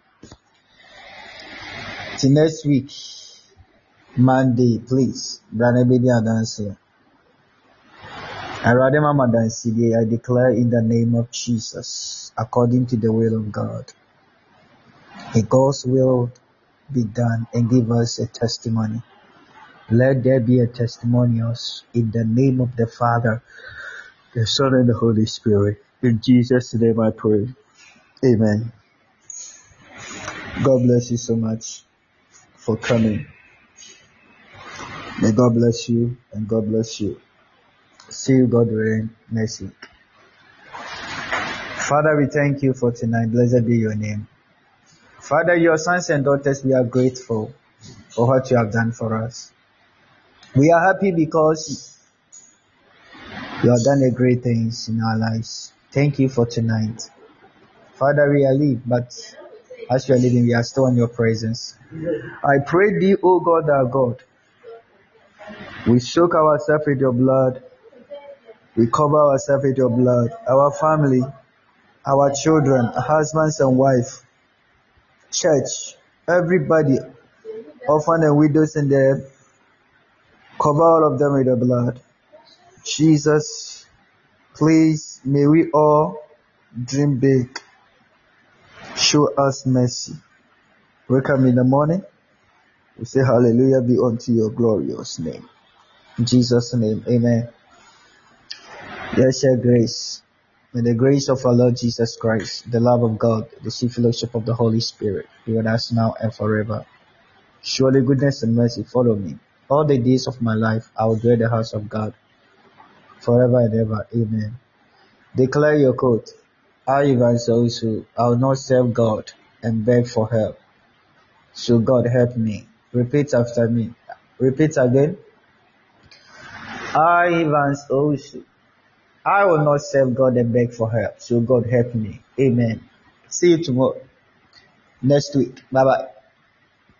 Till next week, Monday, please, Brother Bedia dance here. I rather Mama dance today. I declare in the name of Jesus, according to the will of God, may God's will be done and give us a testimony. Let there be a testimonials in the name of the Father, the Son, and the Holy Spirit. In Jesus' name I pray. Amen. God bless you so much for coming. May God bless you and God bless you. See you, God willing, next week. Father, we thank you for tonight. Blessed be your name. Father, your sons and daughters, we are grateful for what you have done for us. We are happy because you have done a great things in our lives. Thank you for tonight. Father, we are leaving, but as we are leaving, we are still in your presence. I pray thee, O God, our God, we soak ourselves with your blood. We cover ourselves with your blood. Our family, our children, husbands and wife, church, everybody, orphan and widows in there, cover all of them with the blood. Jesus, please, may we all dream big. Show us mercy. Wake up in the morning. We say hallelujah be unto your glorious name. In Jesus' name, amen. Let's share grace. May the grace of our Lord Jesus Christ, the love of God, the sweet fellowship of the Holy Spirit be with us now and forever. Surely goodness and mercy follow me. All the days of my life I will dwell in the house of God forever and ever. Amen. Declare your quote. I will not serve God and beg for help. So God help me. Repeat after me. Repeat again. I, Evans Owusu, I will not serve God and beg for help. So God help me. Amen. See you tomorrow. Next week. Bye bye.